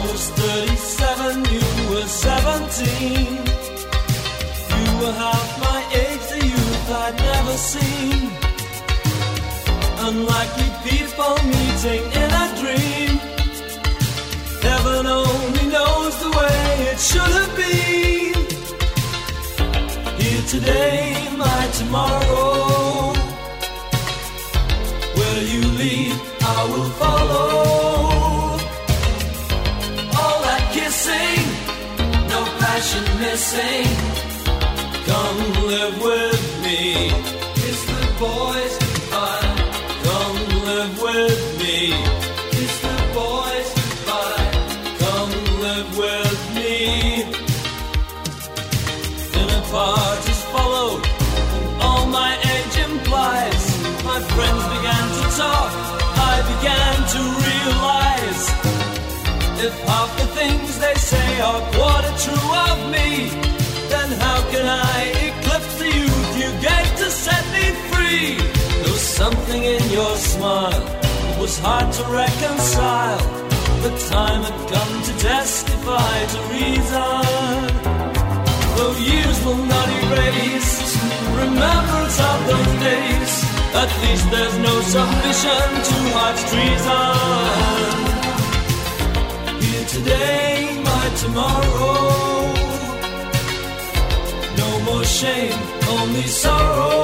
unlikely people meeting in a dream. Heaven only knows the way it should have been. Here today, my tomorrow. Where you lead, I will follow. All that kissing, no passion missing. Come live with me. Kiss the boys goodbye. Come live with me. Kiss the boys goodbye. Come live with me. Dinner parties followed, and all my age implies. My friends began to talk. I began to realize, if half the things they say are quarter true of me, then how can I eclipse the youth you gave to set me free? There was something in your smile, it was hard to reconcile. The time had come to testify to reason. Though years will not erase remembrance of those days, at least there's no submission to heart's treason. Here today, my tomorrow. No more shame, only sorrow.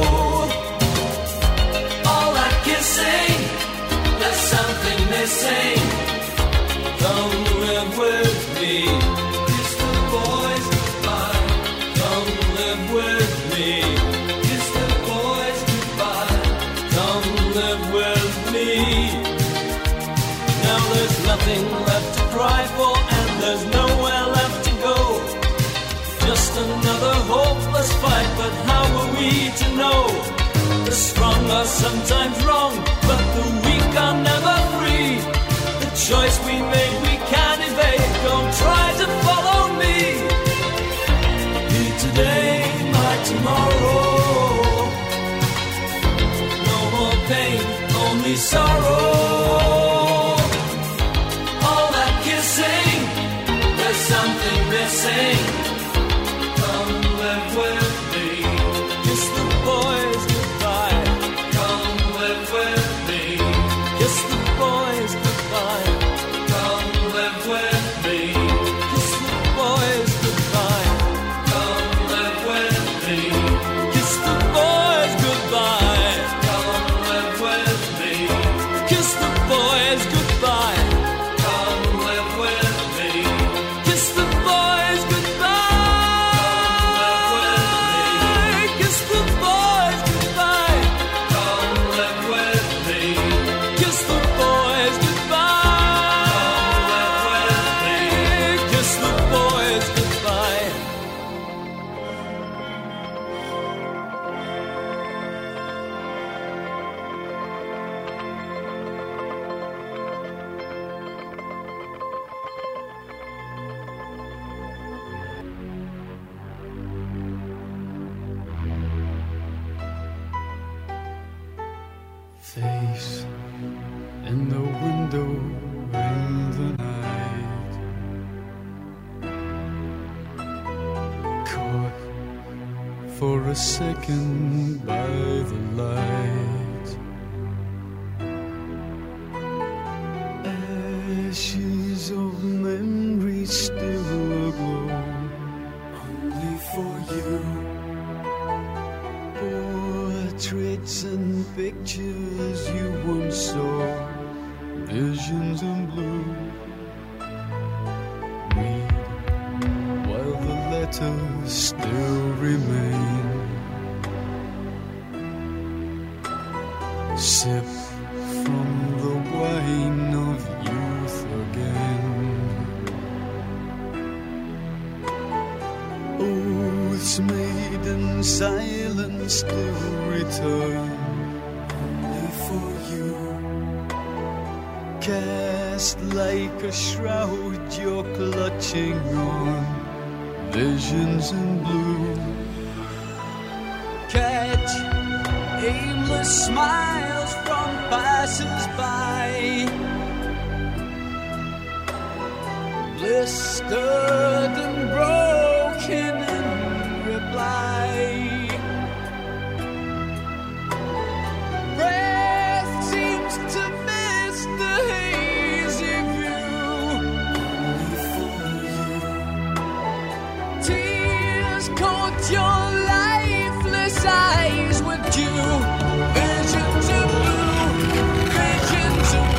All that kissing, there's something missing. Come live with me. Kiss the boys goodbye. Come live with me. Kiss the boys goodbye. Come live with me. Now there's nothing left to cry for, and there's nowhere left to go. Just another hopeless fight, but how are we to know? The strong are sometimes wrong, but the weak are never free. The choice we made we can't evade, don't try to follow me. Here today, my tomorrow. No more pain, only sorrow. All that kissing, there's something missing. Come live with me. Kiss the boys goodbye. Come live with me. Kiss the boys goodbye. Come live with me. Kiss the boys goodbye. Come live with me. Kiss the boys goodbye. Come live with me. Kiss the boys goodbye. Come live with me. Kiss the boys goodbye. Kiss the boys goodbye. Come live with me. Kiss the boys goodbye. Kiss the boys goodbye. Face in the window in the night, caught for a second by the light. Ashes of memory still aglow, only for you. Portraits and pictures you once saw, visions in blue. Read while the letters still remain. Sip from the wine of youth again. Oaths made in silence still return, only for you. Cast like a shroud you're clutching on, visions in blue. Catch aimless smiles from passers-by, blistered and broken in reply. Breath thought your lifeless eyes were due. Visions of blue, visions of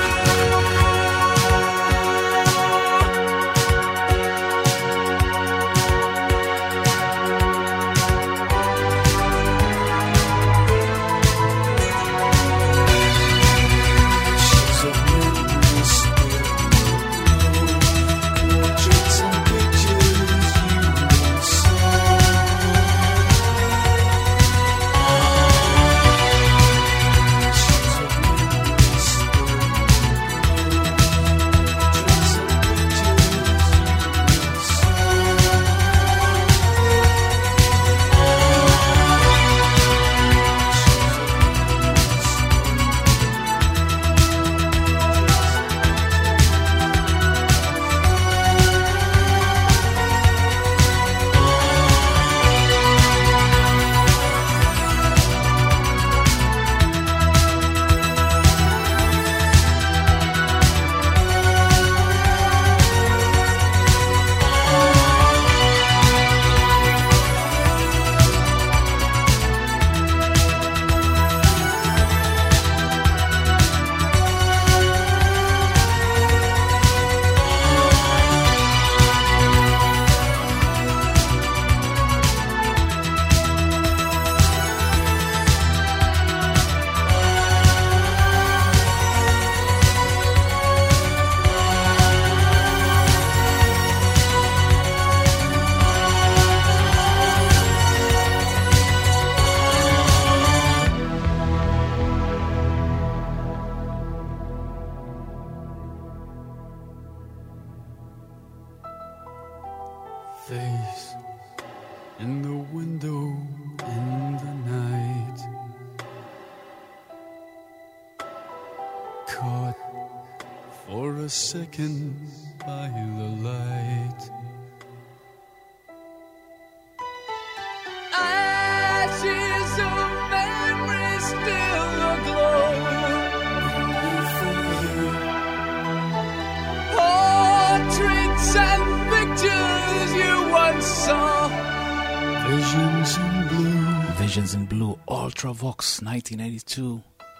face in the window in the night, caught for a second by the light. Ashes of memory still aglow. Portraits and pictures you once saw. Visions in blue. Visions in Blue, Ultravox, 1982.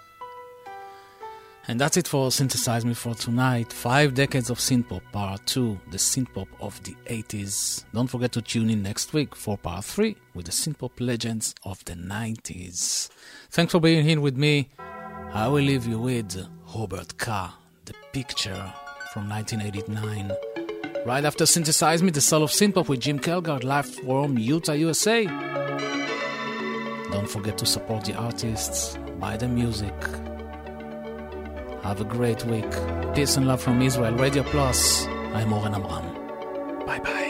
And that's it for Synthesize Me for tonight. 5 decades of synthpop, part 2, the synthpop of the 80s. Don't forget to tune in next week for part 3 with the synthpop legends of the 90s. Thanks for being here with me. I will leave you with Robert K., The Picture from 1989. Right after Synthesize Me, the soul of synthpop with Jim Kelgard, live from Utah, USA. Don't forget to support the artists, buy the music. Have a great week. Peace and love from Israel. Radio Plus. I'm Oren Amram. Bye bye.